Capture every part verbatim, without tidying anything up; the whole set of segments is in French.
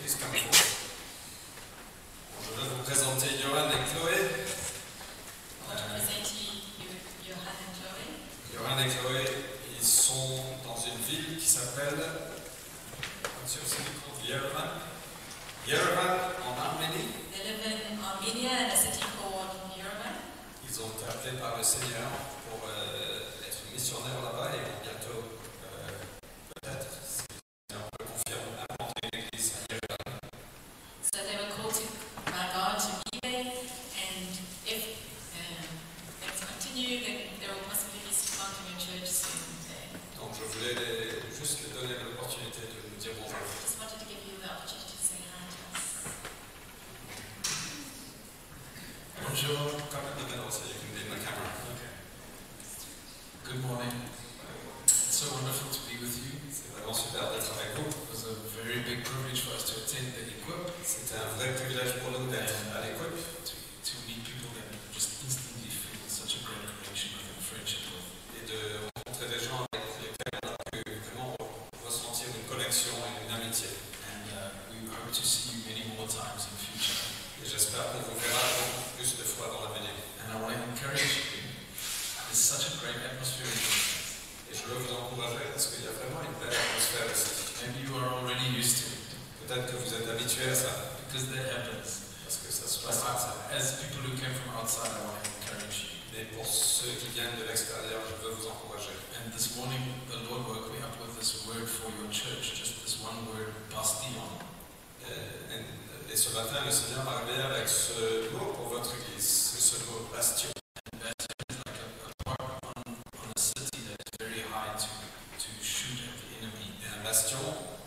maîtrise comme il faut. Je vais vous présenter Johan et Chloé. Johan et Chloé, ils sont dans une ville qui s'appelle Yerevan. Yerevan en Arménie. They live in Armenia in a city called Yerevan. Ils ont été appelés par le Seigneur pour euh, être missionnaires là-bas et vont bientôt, euh, peut-être, si le Seigneur peut confirmer, implanter une église à Yerevan. So they were called to, by God to Gibeon, and if um, things continue, then there will possibly be some planting a church soon there. Donc je voulais les, juste les donner l'opportunité de nous dire bonjour. Just wanted to give you the opportunity to say hi to us. Bonjour. Come in the middle so you can be in the camera. Okay. Good morning. It's so wonderful to be with you. C'est vraiment super d'être avec vous. It was a very big privilege for us to attend the Equip, C'était un vrai privilège pour nous d'être à l'écoute, to, to meet people that just instantly feel such a great connection with and friendship with. et de rencontrer des gens avec lesquels on a pu vraiment ressentir une connexion et une amitié. And uh, we hope to see you many more times in future. Et j'espère qu'on vous verra beaucoup plus de fois dans l'avenir. And I want to encourage you. There's such a great atmosphere in this. Et je veux vous encourager parce qu'il y a vraiment une belle atmosphère ici. Maybe you are already used to it Peut-être que vous êtes habitués à ça, because that happens. parce que ça se But passe comme ça. I- as people who came from outside, I want to encourage you. Mais pour ceux qui viennent de l'extérieur, je veux vous encourager. And this morning, the Lord woke me up with this word for your church, just this one word, bastion. Et, et- et ce matin, le Seigneur m'a réveillé avec ce mot pour votre église, c'est ce mot bastion. And bastion is like a, a park on, on a city that is very high to, to shoot at the enemy. Et un bastion,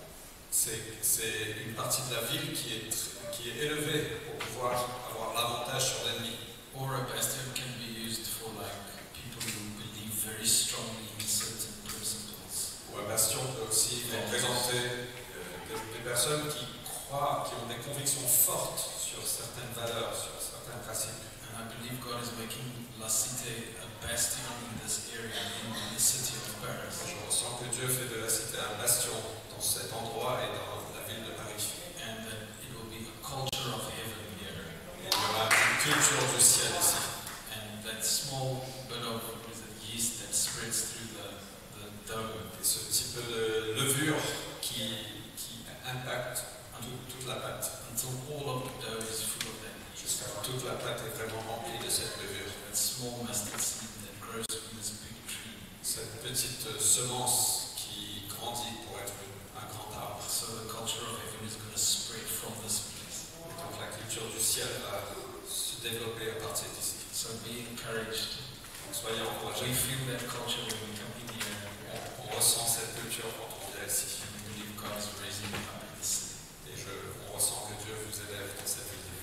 c'est c'est une partie de la ville qui est, qui est élevée pour pouvoir avoir l'avantage sur l'ennemi. Or a bastion can be used for like people who believe very strongly in certain principles. Ou un bastion peut aussi représenter euh, des, des personnes qui croient, qui ont des convictions fortes sur certaines valeurs, sur certains principes. And I believe God is making La Cité a bastion in this area, in the city of Paris. Je ressens que Dieu fait de la cité un bastion dans cet endroit et dans la ville de Paris. And that it will be a culture of heaven here. Et il y aura une culture du ciel ici. And that small bit of what is it, yeast that spreads through the, the dough Et ce petit peu de levure qui, qui impacte tout- toute la pâte, until all of the dough is full of that yeast. jusqu'à ce que toute la pâte est vraiment remplie de cette levure. That small mustard seed that grows from this big tree. Cette petite euh, semence qui grandit pour être un grand arbre. So the culture of heaven is going to spread from this place. Et donc la culture du ciel va se développer à partir d'ici. So be encouraged. Donc soyez We encouragés. feel that culture when we come in here. On, on ressent cette culture quand on vient ici. And we believe God is raising it up in the city. Et je, on ressent que Dieu vous élève dans cette ville.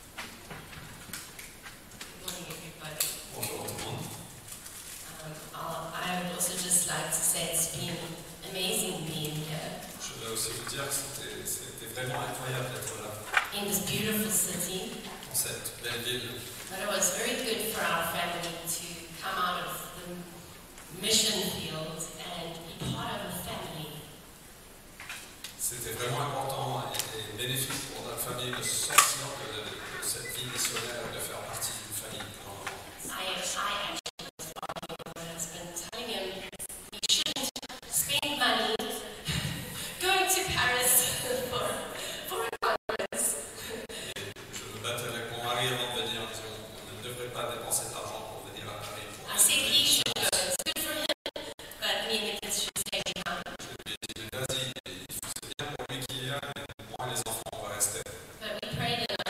Good morning, everybody. Bonjour tout le monde. Um, I'll- I would also just like to say it's been amazing being here Je veux aussi vous dire que c'était c'était vraiment incroyable d'être là, in this beautiful city. dans cette belle ville. But it was very good for our family to come out of the mission field and be part of a family. C'était vraiment important et, et bénéfique pour notre famille de sortir de, de cette vie missionnaire et de faire partie d'une famille. pour un moment. I, I actually was arguing with my husband, telling him we shouldn't spend money going to Paris for, for a conference. Je me battais avec mon mari avant de venir en disant on ne devrait pas dépenser de l'argent pour venir à Paris. Pour I said he should go. It's good for him, but me and the kids should stay behind. Je lui ai dit mais vas-y, c'est bien pour lui qui est là, mais moi et les enfants on va rester. But we prayed and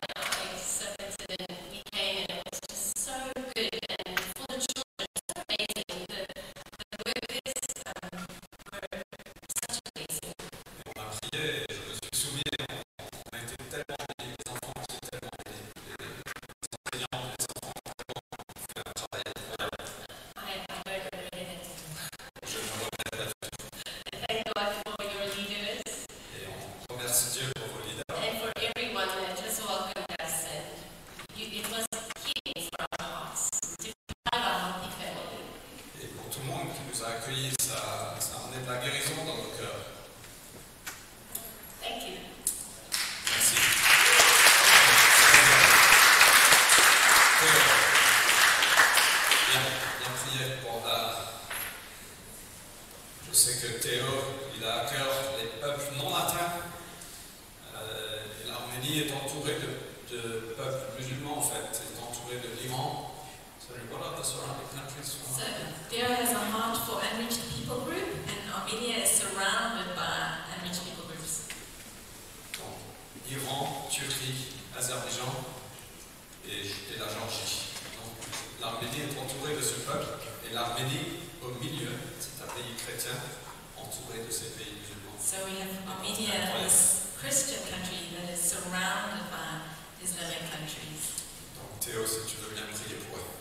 here in this Christian country that is surrounded by Islamic countries. Donc Théo, si tu veux bien prier pour eux.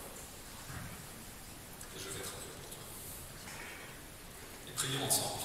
Et je vais traduire pour toi. Et prions ensemble.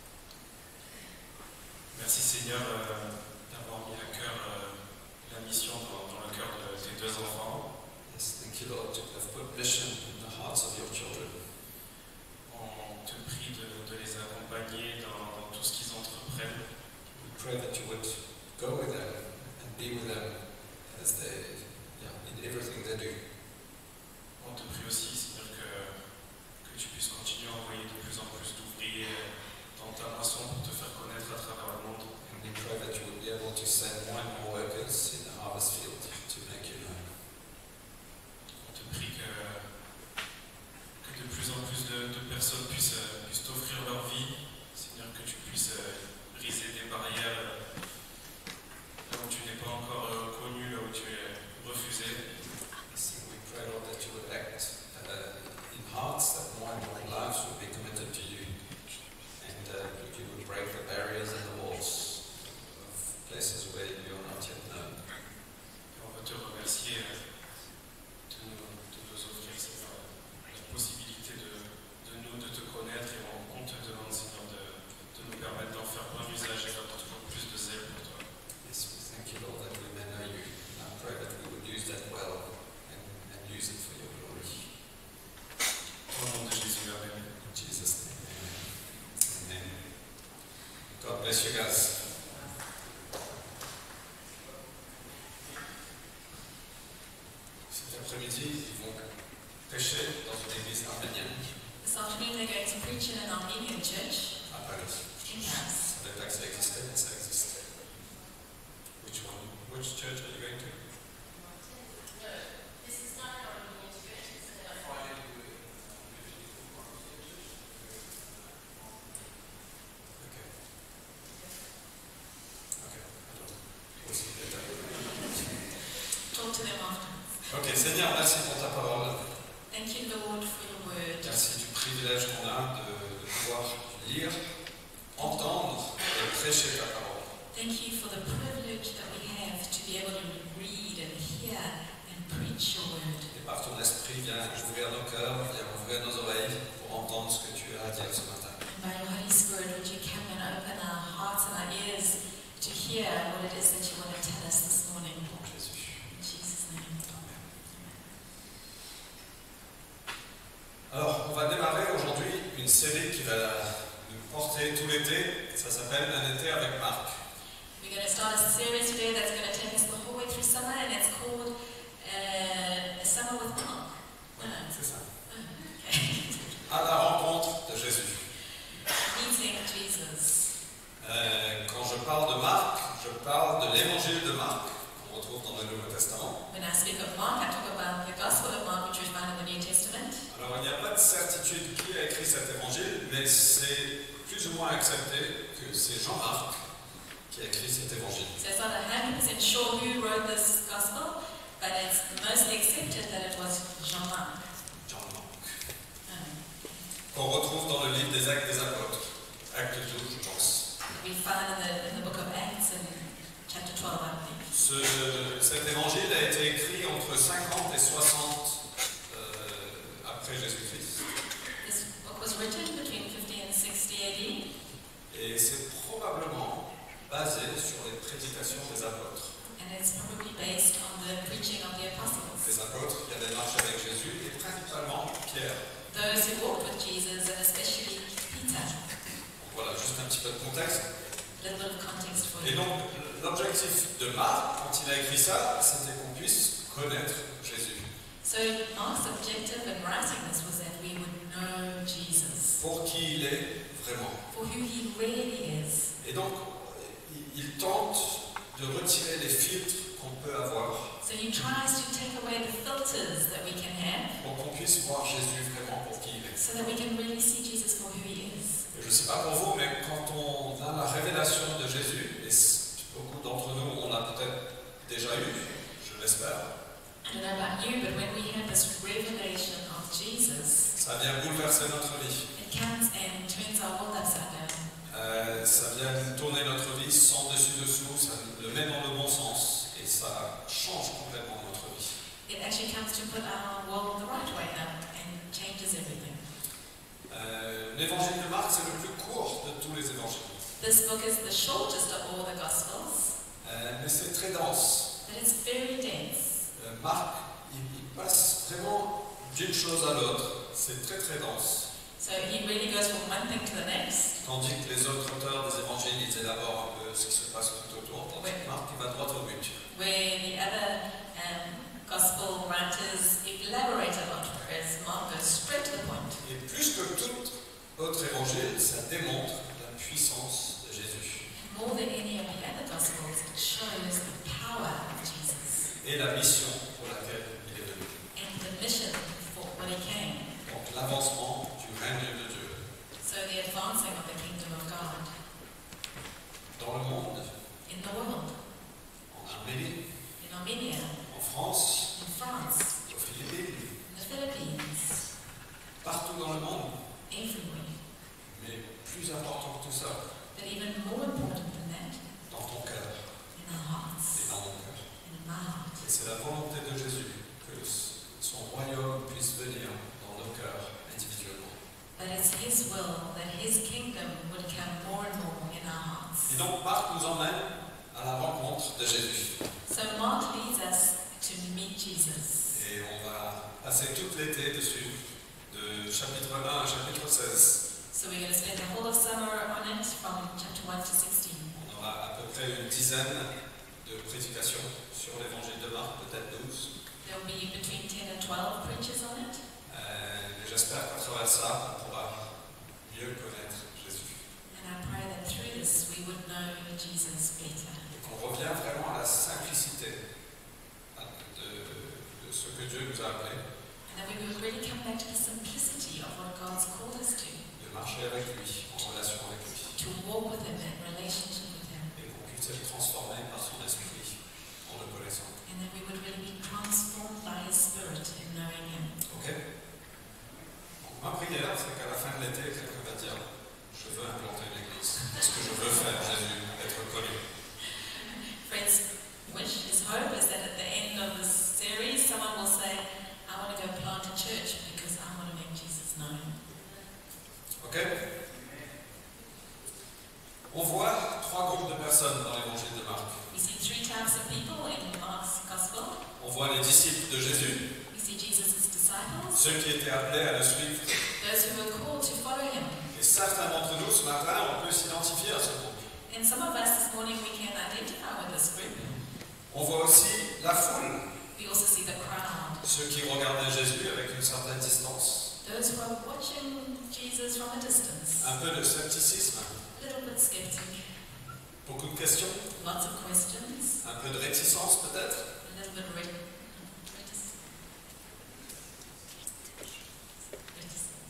Merci Seigneur euh, d'avoir mis à cœur euh, la mission dans, dans le cœur de tes deux enfants. Yes, thank you, Lord, to have put mission in the hearts of your children. On te prie de, de les accompagner dans, dans tout ce qu'ils entreprennent. We pray that you would go with them and be with them as they, yeah, in everything they do. On te prie aussi Seigneur que, que tu puisses continuer à envoyer de plus en plus d'ouvriers dans ta moisson pour te faire connaître à travers le monde. And we pray that you would be able to send more and more workers in the harvest field to make you known. On te prie que, que de plus en plus de, de personnes puissent, puissent t'offrir leur vie. Seigneur, que tu puisses briser des barrières là où tu n'es pas encore connu, là où tu es refusé. So we pray, Lord, that you would act uh, in hearts that more and more lives would be committed to you, and uh, that you would break the barriers and the walls of places where you are not yet known. Et on veut te remercier de nous, de nous offrir, Seigneur, la possibilité de, de nous, de te connaître, et on, on te demande, Seigneur, de, de nous permettre d'en faire bon usage et d'avoir toujours plus de zèle pour toi. Yes, we thank you, Lord, that we may know you, and I pray that we would use that well and, and use it for your glory. Au nom de Jésus, Amen. In Jesus' name, amen. Amen. God bless you guys. Cet après-midi, ils vont prêcher dans une église arménienne This afternoon they're going to preach in an Armenian church à Paris. in Paris. Ça savait pas que ça existait, mais ça existe. Which one? Which church are you going to? This is not an Armenian church, it's an Okay. Okay. Alors, aussi later. Talk to them afterwards. Ok, Seigneur, merci pour ta parole. Thank you, Lord, for your word. Merci du privilège qu'on a de, de pouvoir lire, entendre et prêcher ta parole. Thank you for the privilege that we have to be able to read and hear and preach your word. Et par ton esprit, viens ouvrir nos cœurs, viens ouvrir nos oreilles pour entendre ce que tu as à dire ce matin. By your Holy Spirit, would you come and open our hearts and our ears to hear what it is that you want to tell us this morning? En Jésus. In Jesus' name. Amen. Alors, on va démarrer aujourd'hui une série qui va nous porter tout l'été. Ça s'appelle Un été avec Marc. We're going to start a series today that's going to take us the whole way through summer, and it's called uh, Summer with Mark. Oui, c'est ça. Okay. À la rencontre de Jésus. Meeting Jesus. Euh, quand je parle de Marc, je parle de l'évangile de Marc, qu'on retrouve dans le Nouveau Testament. When I speak of Mark, I talk about the Gospel of Mark, which we find in the New Testament. Alors, il n'y a pas de certitude qui a écrit cet évangile, mais c'est plus ou moins accepté que c'est Jean-Marc qui a écrit cet évangile. So it's not one hundred percent sure who wrote this Gospel, but it's mostly accepted that it was Jean-Marc. Jean-Marc. Um, Qu'on retrouve dans le livre des Actes des Apôtres, Acte douze, je pense. we find in the, in the book of Acts in chapter twelve, I believe. Ce, cet évangile a été écrit entre cinquante et soixante euh, après Jésus-Christ. This book was written between fifty and sixty A D, Et c'est probablement basé sur les prédications des apôtres. and it's probably based on the preaching of the apostles. Les apôtres qui avaient marché avec Jésus, et principalement Pierre. Those who walked with Jesus, and especially Peter. Voilà, juste un petit peu de contexte. A little bit of context for Et you. donc, l'objectif de Marc, quand il a écrit ça, c'était qu'on puisse connaître Jésus. So Mark's objective in writing this was that we would know Jesus Pour qui il est vraiment. for who he really is. Et donc, il, il tente de retirer les filtres qu'on peut avoir So he tries to take away the filters that we can have pour qu'on puisse voir Jésus vraiment pour qui il est. so that we can really see Jesus for who he is. Et je ne sais pas pour vous, mais quand on a la révélation de Jésus, et beaucoup d'entre nous, on l'a peut-être déjà eu, je l'espère, I don't know about you, but when we have this revelation of Jesus, ça vient bouleverser notre vie. it comes and turns our world upside down. Euh, ça vient tourner notre vie sans dessus-dessous, ça le met dans le bon sens et ça change complètement notre vie. It actually comes to put our world the right way out and changes everything. Euh, L'évangile de Marc, c'est le plus court de tous les évangiles. This book is the shortest of all the Gospels, Euh, mais c'est très dense. but it's very dense. Euh, Marc, il, il passe vraiment d'une chose à l'autre. C'est très très dense. So he really goes from one thing to the next. Tandis que les autres auteurs des évangiles, ils élaborent un peu ce qui se passe tout autour. Tandis que Marc, il va droit au but. Where the other um, Gospel writers elaborate a lot, whereas Mark goes straight to the point. Et plus que tout autre évangile, ça démontre la puissance de Jésus. More than any of the other Gospels, it shows the power of Jesus Et la mission pour laquelle il est venu. and the mission for when he came. Donc l'avancement du règne de Dieu So the advancing of the kingdom of God dans le monde, in the world, en Arménie, in Armenia, en France, in France, aux Philippines, in the Philippines, partout dans le monde. everywhere. Mais plus important que tout ça, But even more important than that, dans ton cœur in our et hearts dans mon cœur. and in my heart. Et c'est la volonté de Jésus que son royaume puisse venir dans nos cœurs individuellement. But it's his will that his kingdom would come more and more in our hearts. Et donc Marc nous emmène à la rencontre de Jésus. So Mark leads us to meet Jesus. Et on va passer tout l'été dessus, de chapitre un à chapitre seize. So we're going to spend the whole of summer on it from chapter one to sixteen. On aura à peu près une dizaine de prédications sur l'évangile de Marc, peut-être douze. There'll be between ten and twelve preachers on it. Euh, et j'espère qu'à travers ça, on pourra mieux connaître Jésus. And I pray that through this we would know Jesus better. Et qu'on revient vraiment à la simplicité de, de ce que Dieu nous a appelé, And that we would really come back to the simplicity of what God's called us to. de marcher avec lui, en relation avec lui, To walk with him in relationship with him. et qu'on puisse être transformé par son esprit en le connaissant. And that we would really be transformed by his spirit in knowing him. Ok? Donc, ma prière, c'est qu'à la fin de l'été, quelqu'un va dire je veux implanter une église. Ce que je veux faire, Jésus, être connu. Friends, wish, his hope is that at the end of this series, someone will say, I want to go plant a church because I want to make Jesus known. Ok? On voit trois groupes de personnes dans l'évangile de Marc. We see three types of people in Mark's Gospel. On voit les disciples de Jésus, We see Jesus' disciples, ceux qui étaient appelés à le suivre. those who were called to follow him. Et certains d'entre nous, ce matin, on peut s'identifier à ce groupe. And some of us this morning we can identify with this group. On voit aussi la foule, We also see the crowd, ceux qui regardaient Jésus avec une certaine distance, those who are watching Jesus from a distance. un peu de scepticisme, A little bit skeptic, beaucoup de questions, lots of questions, un peu de réticence peut-être. a little bit re- reticent. Reticent.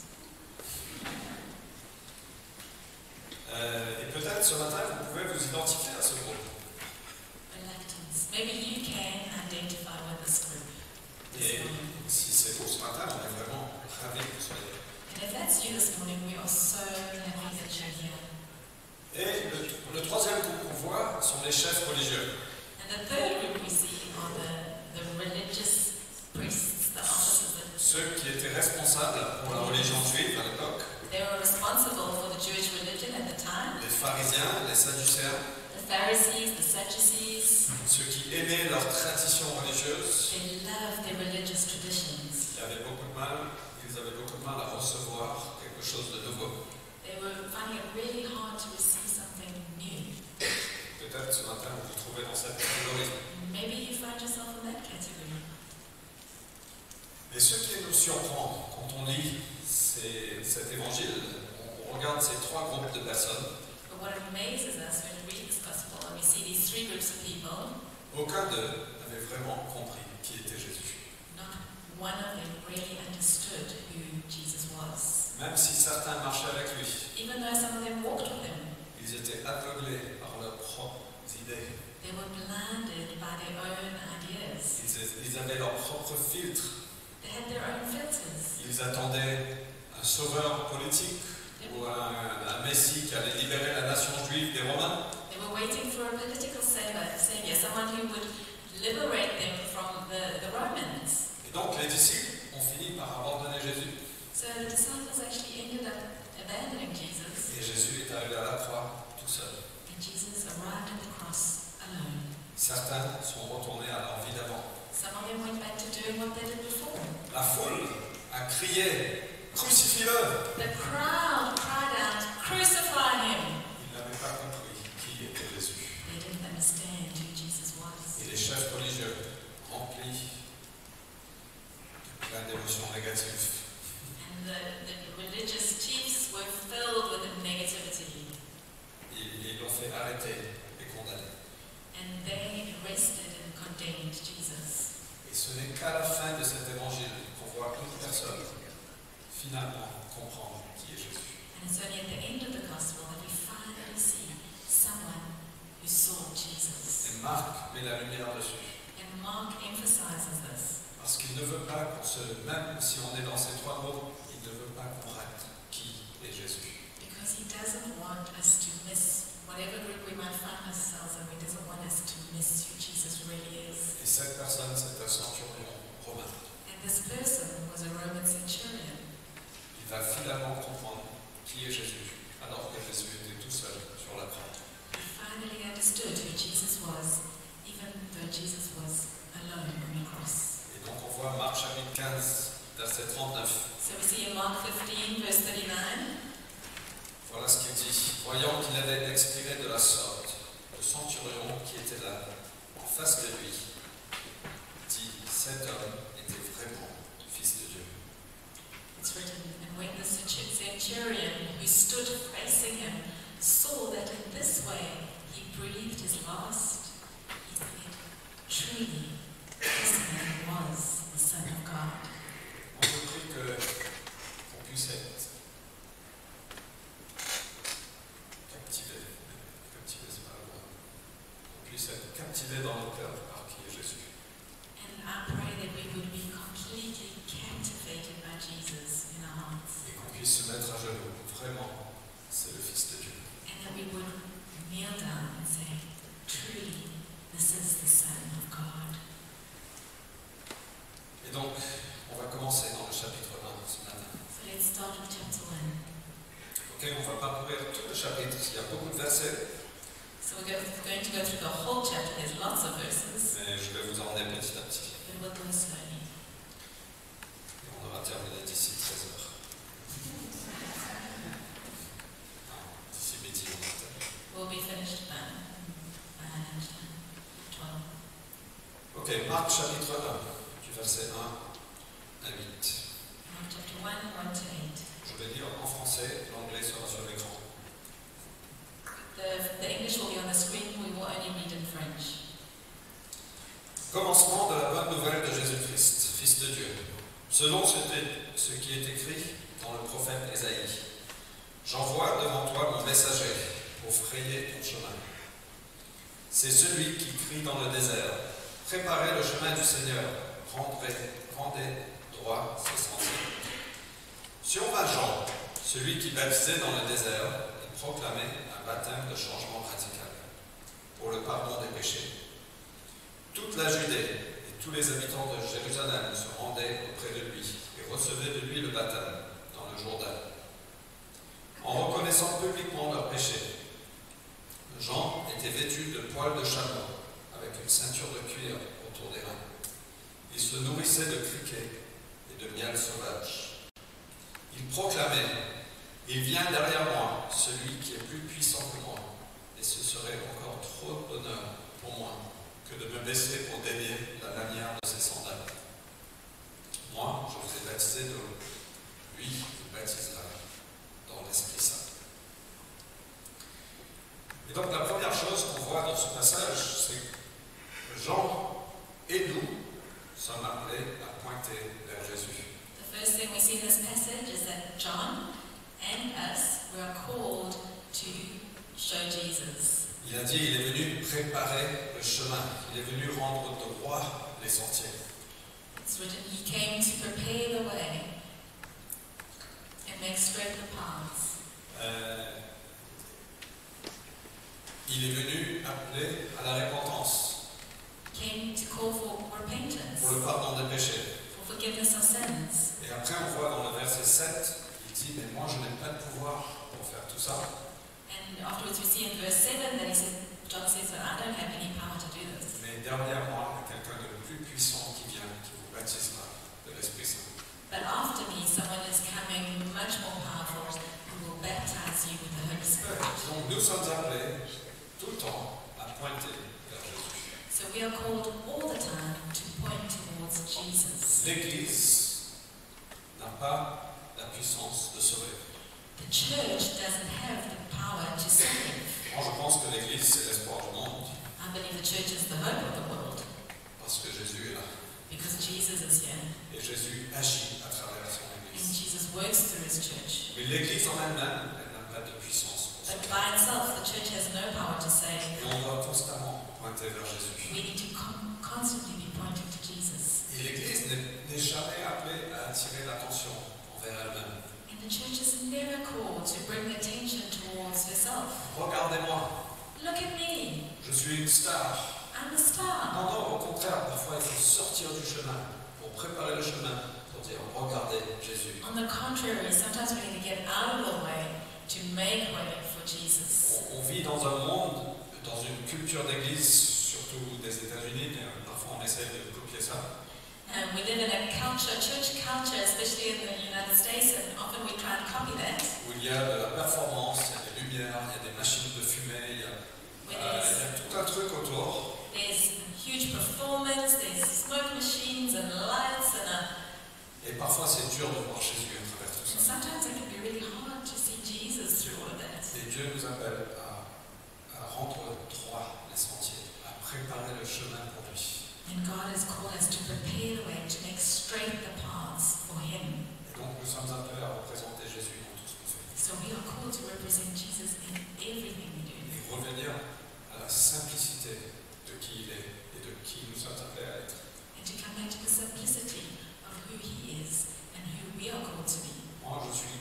Euh, et peut-être ce matin, vous pouvez vous identifier à ce groupe. Reluctance. Maybe you can identify with this group this Et morning. si c'est vous ce matin, on est vraiment ravis que vous soyez là. And if that's you this morning, we are so happy that you're here. Et le, le troisième groupe qu'on voit sont les chefs religieux. And the third group we see are the, the religious priests, the officers. That Ceux qui étaient responsables pour la religion juive à l'époque, they were responsible for the Jewish religion at the time. les pharisiens, les sadducéens, The Pharisees, the Sadducees, ceux qui aimaient leur tradition religieuse. they loved their religious traditions. Ils avaient beaucoup de mal, ils avaient beaucoup de mal à recevoir quelque chose de nouveau. They were finding it really hard to receive something new. Peut-être ce matin vous vous trouvez dans cette catégorie. Maybe you find yourself in that category. Et ce qui nous surprend quand on lit ces- cet évangile, on regarde ces trois groupes de personnes, But what amazes us when we read this gospel and we see these three groups of people, aucun d'eux n'avait vraiment compris qui était Jésus. not one of them really understood who Jesus was. Même si certains marchaient avec lui, Even though some of them walked with him, ils étaient aveuglés par leurs propres idées. they were blinded by their own ideas. Ils, ils avaient leur propre filtre. They had their own filters. Ils attendaient un sauveur politique ou un, un messie qui allait libérer la nation juive des Romains. They were waiting for a political savior, savior, someone who would liberate them from the, the Romans. Et donc les disciples ont fini par abandonner Jésus. So the disciples actually ended up abandoning Jesus, Et Jésus est arrivé à la croix tout seul. and Jesus arrived at the cross alone. Certains sont retournés à leur vie d'avant. Some of them went back to doing what they did before. La foule a crié « Crucifie-le !» The crowd cried out, "Crucify him!" Ils n'avaient pas compris qui était Jésus. They didn't understand who Jesus was. Et les chefs religieux, remplis de plein d'émotions négatives, And the, the religious chiefs were filled with negativity. ils ils l'ont fait arrêter et condamner. And they arrested and condemned Jesus. Et ce n'est qu'à la fin de cet évangile qu'on voit une personne finalement comprendre qui est Jésus. And it's only at the end of the gospel that we finally see someone who saw Jesus. Et Marc met la lumière dessus. And Mark emphasizes this. Parce qu'il ne veut pas qu'on se, même si on est dans ces trois mots, il ne veut pas qu'on rate qui est Jésus. Because he doesn't want us to miss whatever group we might find ourselves in. He doesn't want us to miss who Jesus really is. Et cette personne, c'est un centurion romain. And this person was a Roman centurion. Il va finalement comprendre qui est Jésus, alors que Jésus était tout seul sur la croix. He finally understood who Jesus was, even though Jesus was alone on the cross. Et donc on voit Marc chapitre quinze, verset trente-neuf. So we see in Mark fifteen, verse thirty-nine. Voilà ce qu'il dit. Voyant qu'il avait expiré de la sorte, le centurion qui était là, en face de lui, dit, cet homme était vraiment fils de Dieu. It's written, and when the centurion who stood facing him saw that in this way he breathed his last, he said, "Truly, this man was the Son of God." On me prie que qu'on puisse être captivé, captivé c'est pas le mot, qu'on puisse être captivé dans nos cœurs par qui est Jésus. And I pray that we would be completely captivated by Jesus in our hearts, Et qu'on puisse se mettre à genoux. Vraiment, c'est le Fils de Dieu. and that we would kneel down and say, "Truly, this is the Son of God." Et donc, on va commencer dans le chapitre un ce matin. So let's start with chapter one. Ok, on va parcourir tout le chapitre, il y a beaucoup de versets, So we're go- going to go through the whole chapter. There's lots of verses, mais je vais vous emmener petit à petit. but we'll go slowly. Et on aura terminé d'ici treize heures. Non, d'ici midi, on va terminer. We'll be finished by by lunchtime, twelve. Ok, Marc chapitre un, du verset un à huit. Mark chapter one, one to eight. Je vais lire en français, l'anglais sera sur l'écran. The, the English will be on the screen. We will only read in French. Commencement de la bonne nouvelle de Jésus-Christ, Fils de Dieu, selon ce, ce qui est écrit dans le prophète Ésaïe. J'envoie devant toi mon messager pour frayer ton chemin. C'est celui qui crie dans le désert. Préparez le chemin du Seigneur, rendez, rendez droit ses sentiers. Sur ma Jean, celui qui baptisait dans le désert, il proclamait un baptême de changement radical pour le pardon des péchés. Toute la Judée et tous les habitants de Jérusalem se rendaient auprès de lui et recevaient de lui le baptême dans le Jourdain, en reconnaissant publiquement leurs péchés. Jean était vêtu de poils de chameau, avec une ceinture de cuir autour des reins. Il se nourrissait de criquets et de miel sauvage. Il proclamait, « Il vient derrière moi, celui qui est plus puissant que moi, et ce serait encore trop d'honneur pour moi que de me baisser pour délier la lanière de ses sandales. Moi, je vous ai baptisé d'eau, lui vous baptisera dans l'Esprit Saint. » Et donc la première chose qu'on voit dans ce passage, c'est que Jean et nous sommes appelés à pointer vers Jésus. The first thing we see in this passage is that John and us were called to show Jesus. Il a dit, il est venu préparer le chemin, il est venu rendre droit les sentiers. It's written, he came to prepare the way and make straight the paths. Euh, Il est venu appeler à la repentance, came to call for repentance, pour le pardon des péchés. for forgiveness of sins. Et après, on voit dans le verset sept, il dit, mais moi, je n'ai pas de pouvoir pour faire tout ça. And afterwards we see in verse seven that he said, John says that I don't have any power to do this. Mais derrière moi, il y a quelqu'un de plus puissant qui vient, qui vous baptisera de l'Esprit Saint. But after me, someone is coming much more powerful who will baptize you with the Holy Spirit. Donc nous sommes appelés tout le temps à pointer vers Jésus. So we are called all the time to point towards Jesus. L'Église n'a pas la puissance de sauver. The church doesn't have the power to save. Moi, je pense que l'Église, c'est l'espoir du monde, I believe the church is the hope of the world parce que Jésus est là. because Jesus is here Et Jésus agit à travers son and Église. Jesus works through his church. Mais l'Église en elle-même, elle n'a pas de puissance pour But sauver. by itself, the church has no power to save. Et on doit constamment pointer vers Jésus. We need to con- constantly be pointing to Jesus. Et l'Église n'est n'est jamais appelée à attirer l'attention envers elle-même. And the church is never called to bring attention towards herself. Regardez-moi, Look at me, je suis une star. I'm a star. Non, non, au contraire, parfois il faut sortir du chemin pour préparer le chemin, pour dire regardez Jésus. On the contrary, sometimes we need to get out of the way to make way for Jesus. On, on vit dans un monde, dans une culture d'église, surtout des États-Unis, mais parfois on essaie de copier ça, And we live in a culture, church culture, especially in the United States, and often we try and copy that. où il y a de la performance, il y a des lumières, il y a des machines de fumée, il y a, Where euh, il there's, y a tout un truc autour. there's huge performance, there's smoke machines and lights, and, a, Et parfois c'est dur de voir Jésus à travers tout and ça. sometimes it can be really hard to see Jesus through all of that. Et Dieu nous appelle à, à rendre droit les sentiers, à préparer le chemin pour lui. And God has called us to prepare the way, to make straight the paths for Him. Et donc nous sommes appelés à représenter Jésus dans tout ce qu'on fait. So we are called to represent Jesus in everything we do. Et revenir à la simplicité de qui il est et de qui nous sommes appelés à être. And to come back to the simplicity of who He is and who we are called to be. Moi, je suis,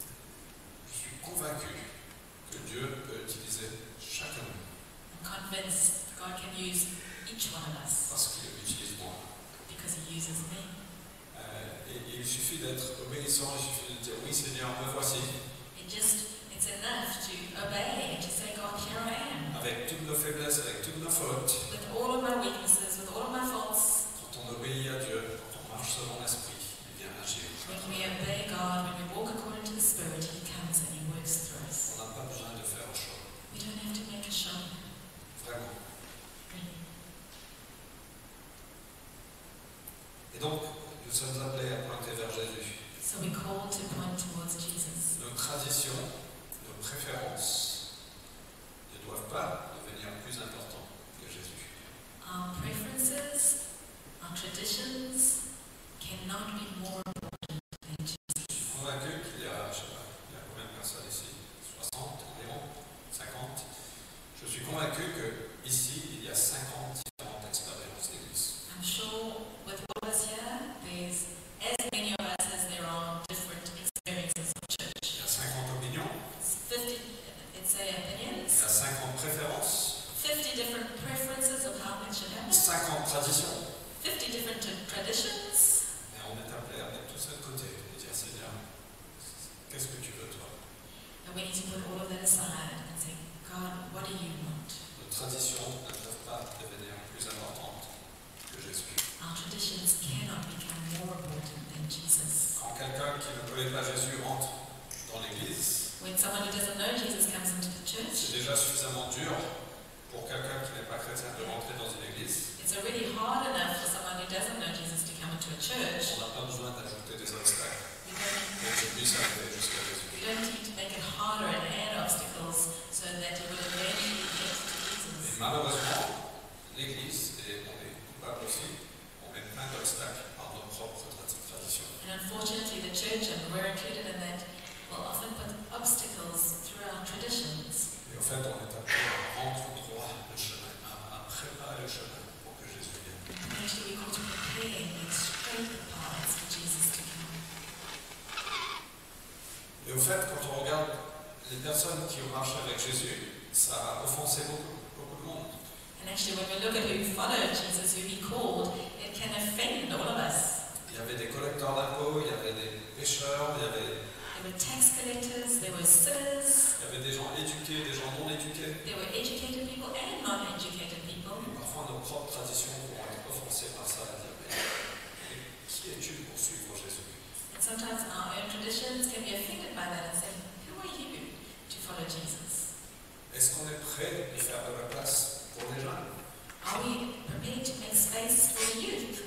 je suis convaincu que Dieu peut utiliser chacun de nous I'm convinced God can use each one of us parce qu'il utilise moi. because He uses me. Euh, et, et il suffit d'être obéissant, il suffit de dire oui Seigneur, me voici, It just, it's enough to obey and to say, God, here I am. avec toutes nos faiblesses, avec toutes nos fautes. With all of my weaknesses, with all of my faults, Quand on obéit à Dieu, quand on marche selon l'Esprit, il vient agir. when we obey God, when we walk according to the Spirit, He comes and He works through us. On n'a pas besoin de faire un choix, We don't have to make a show. vraiment. Really. Et donc, nous sommes appelés à pointer vers Jésus. So we're called to point towards Jesus. Nos traditions, nos préférences ne doivent pas devenir plus importantes que Jésus. Our preferences, our traditions cannot be more important than Jesus. Je suis convaincu qu'il y a, je sais pas, il y a combien de personnes ici? soixante environ? cinquante? Je suis convaincu qu'ici, il y a cinquante différentes expériences d'église. I'm sure with all of us here, there's as many of us as there are different experiences of church. Il y a cinquante opinions, It's fifty, let's say, il y opinions, a cinquante préférences, fifty different preferences of how things should happen, cinquante traditions. fifty different traditions. Mais on est appelé à mettre tout ça de côté et dire Seigneur, qu'est-ce que tu veux toi? And we need to put all of that aside and say, God, what do you want? Nos traditions ne peuvent pas devenir plus importantes que Jésus. Our traditions cannot become more important than Jesus. Quand quelqu'un qui ne connaît pas Jésus rentre dans l'église, When someone who doesn't know Jesus comes into the c'est church, déjà suffisamment dur pour quelqu'un qui n'est pas chrétien de rentrer dans une église. it's already hard enough for someone who doesn't know Jesus to come into a church. On n'a pas besoin d'ajouter des obstacles We don't, pour qu'il puisse arriver jusqu'à Jésus. we don't need to make it harder and add obstacles so that you will eventually get to Et Jesus. malheureusement, l'église, et on est coupable aussi, on met plein d'obstacles par nos propres tra- traditions. And unfortunately, the church, and we're included in that, will often put obstacles through our traditions. Et au fait, on est appelé à rendre droit le chemin, à, à préparer le chemin pour que Jésus vienne. And actually, we're called to prepare and make straight the paths for Jesus to come. Et au fait, quand on regarde les personnes qui ont marché avec Jésus, ça a offensé offenser beaucoup, beaucoup de monde. And actually, when we look at who followed Jesus, who he called, it can offend all of us. Il y avait des collecteurs d'impôts, il y avait des pêcheurs, il y avait, There were tax collectors, there were sinners, il y avait des gens éduqués, des gens non éduqués. there were educated people and non-educated people. Et parfois nos propres traditions vont être offensées par ça et dire mais, mais qui es-tu pour suivre Jésus? And sometimes our own traditions can be offended by that and say, who are you to follow Jesus? Est-ce qu'on est prêt de faire de la place pour les jeunes? Are we prepared to make space for the youth?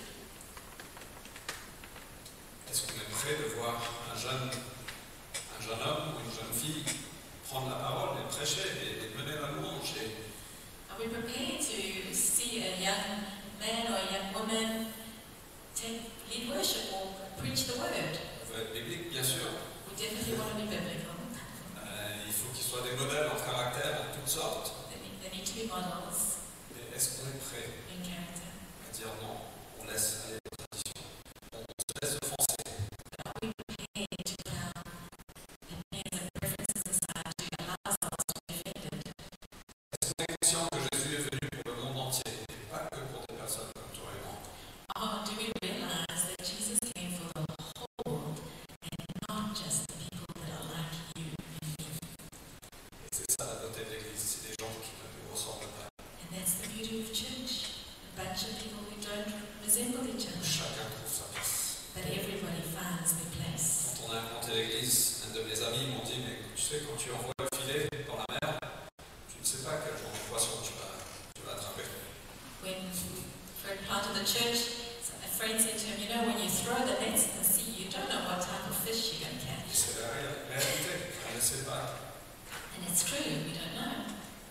Est-ce qu'on est prêt de voir un jeune, un jeune homme ou une jeune fille prendre la parole et prêcher et, et mener la louange et, Are we prepared to see a young man or a young woman take lead worship or preach the word? on veut être biblique, bien sûr. We definitely want to be biblical. Euh, il faut qu'ils soient des modèles en caractère, en toutes sortes. They need, they need to be models Mais est-ce qu'on est prêt in character. à dire non, on laisse aller les traditions, on se laisse offenser? Are we prepared to put our opinions and preferences aside to allow ourselves to be offended? Est-ce qu'on est conscient que Jésus est venu pour le monde entier et pas que pour des personnes comme toi et moi? Or do we realize that Jesus came for the whole world and not just the people that are like you and me? Et c'est ça la beauté de l'Église, c'est des gens qui ne nous ressemblent pas. And that's the beauty of church. A bunch of people who don't resemble each other. Chacun trouve sa place. But everybody finds their place. Quand on a inventé l'Église, un de mes amis m'ont dit mais tu sais quand tu envoies le filet dans la mer, tu ne sais pas quel genre de poisson tu vas, tu vas attraper. When Fred planted the church, so a friend said to him, you know, when you throw the nets in the sea, you don't know what type of fish you're going to Et catch. c'est la ré- réalité, on ne sait pas. And it's true, we don't know.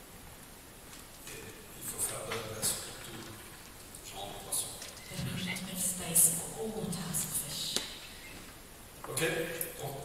Et il faut faire de la place pour tout genre de poisson. But we need to make space for all types of fish. Ok? Bon.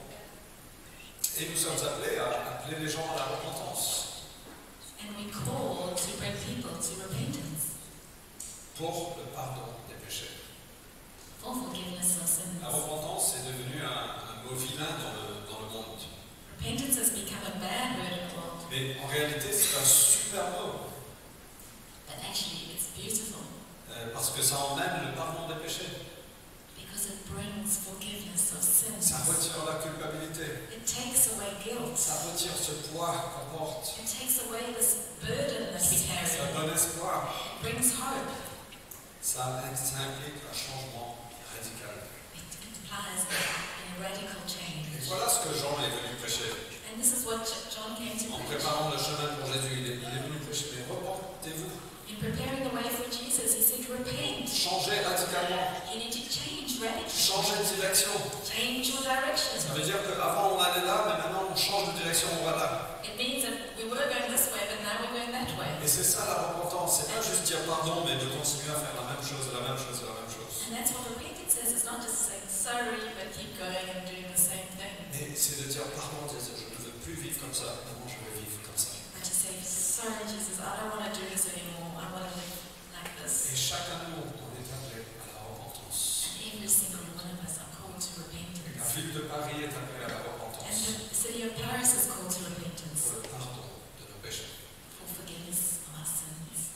Et nous sommes appelés à appeler les gens à la repentance And we call to bring people to repentance, pour le pardon des péchés. for forgiveness of sins. La repentance est devenue un, un mot vilain dans le, dans le monde. Repentance has become a bad word in the world, Mais en réalité, c'est un super mot. but actually it's beautiful euh, parce que ça emmène le pardon des péchés. because it brings forgiveness of sins. Ça retire la culpabilité. It takes away guilt. Ça retire ce poids qu'on porte. It takes away this burden that we Ça carry. donne espoir. It brings hope. Ça, ça implique un changement radical. It implies a radical Et change. voilà ce que Jean est venu prêcher. And this is what John came to En preach. préparant le chemin pour Jésus, il est, il est venu prêcher. Mais repentez-vous. In preparing the way for Jesus, he said, repent. Changez radicalement. You need to change radically. Changez de direction. Change your direction. Ça veut dire qu'avant on allait là, mais maintenant on change de direction, on va là. It means that we were going this way, but now we're going that way. Et c'est ça la repentance. C'est pas juste dire pardon, mais de continuer à faire la même chose, la même chose, la même chose. And that's what repentance is. It's not just saying sorry, but keep going and doing the same thing. Mais c'est de dire pardon, de dire je ne veux plus vivre comme ça, maintenant je veux vivre comme ça. But to say, sorry, Jesus, I don't want to do this anymore. I want to live like Et this. chacun de nous, on est appelé à la repentance. And every single one of us are called to La repentance. ville de Paris est appelée à la And repentance the city of Paris is called to pour repentance le pardon de nos péchés. for forgiveness of our sins.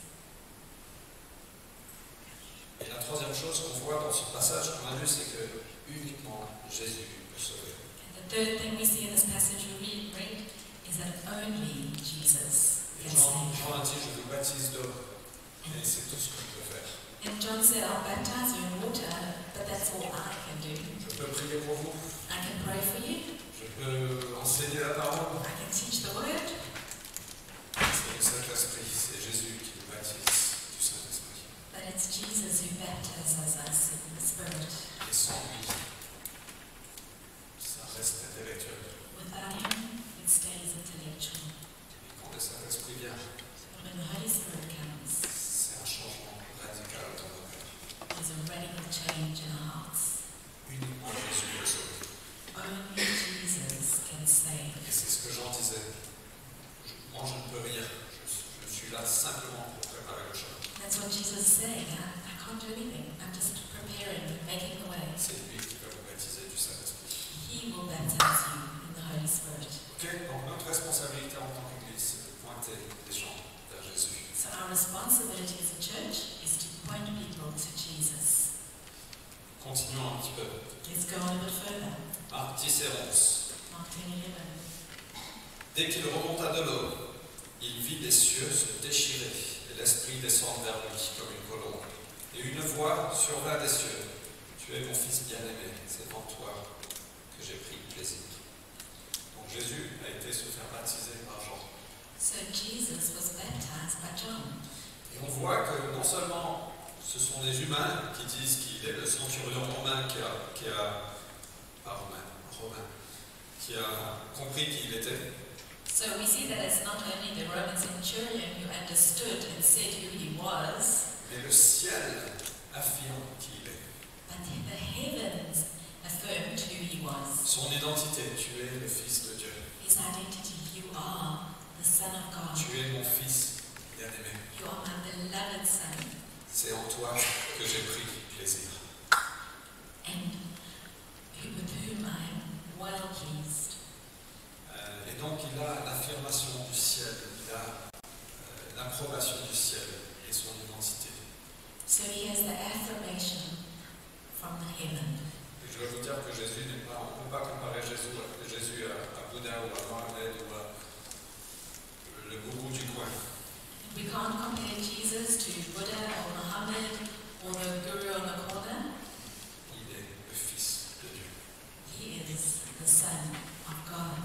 Et la troisième chose qu'on voit dans ce passage qu'on a lu, c'est que uniquement Jésus peut sauver. And the third thing we see in this passage we read, read is that only Jesus Et can Jean, save. Jean a dit, je vous baptise d'eau, et c'est tout ce que je peux faire. And John said, I'll baptize you in water, but that's all I can do. Je peux prier pour vous, I can pray for you. je peux enseigner la parole. I can teach the word. C'est le Saint-Esprit, c'est Jésus qui nous baptise du Saint-Esprit. But it's Jesus who baptizes us in the Spirit. Et sans lui, ça reste intellectuel. Without him, it stays intellectual. Et quand le Saint-Esprit vient, But when the Holy Spirit comes, c'est un changement radical dans nos cœurs. there's a radical change in our hearts. Uniquement Jésus peut sauver. Only Jesus can save. Et c'est ce que Jean disait. Je- Moi, je ne peux rien. Je, je suis là simplement pour préparer le chemin. That's what Jesus is saying. I, I can't do anything. I'm just preparing, making the way. C'est lui qui va vous baptiser du Saint-Esprit. He will baptize you in the Holy Spirit. Ok? Donc notre responsabilité en tant qu'Église, c'est de pointer les gens responsibility as a church is to point people to Jesus. Continuons un petit peu. Let's go on a bit further. Marc dix et onze. Mark ten eleven. Dès qu'il remonta de l'eau, il vit les cieux se déchirer et l'Esprit descendre vers lui comme une colombe. Et une voix survint des cieux. Tu es mon fils bien-aimé, c'est en toi que j'ai pris plaisir. Donc Jésus a été se faire baptiser par Jean. So Jesus was baptized by John. Et on voit que non seulement ce sont les humains qui disent qu'il est le centurion romain qui a, qui a, pas romain, romain, qui a compris qui il était, So we see that it's not only the Roman centurion who understood and said who he was, mais le ciel affirme qui il est. but the heavens affirmed who he was. Son identité, tu es le Fils de Dieu. His identity, you are the Son of God. Tu es mon Fils bien-aimé. You are my beloved Son, C'est en toi que j'ai pris plaisir. and who- with whom I am well pleased. Euh, et donc il a l'affirmation du ciel, il a euh, l'approbation du ciel et son identité. So he has the affirmation from the heaven. Et je dois vous dire que Jésus n'est pas, on ne peut pas comparer Jésus, Jésus à, à Bouddha ou à Mohamed ou à le gourou du coin. We can't compare Jesus to Buddha or Muhammad or the guru on the corner. Il est le Fils de Dieu. He is the Son of God.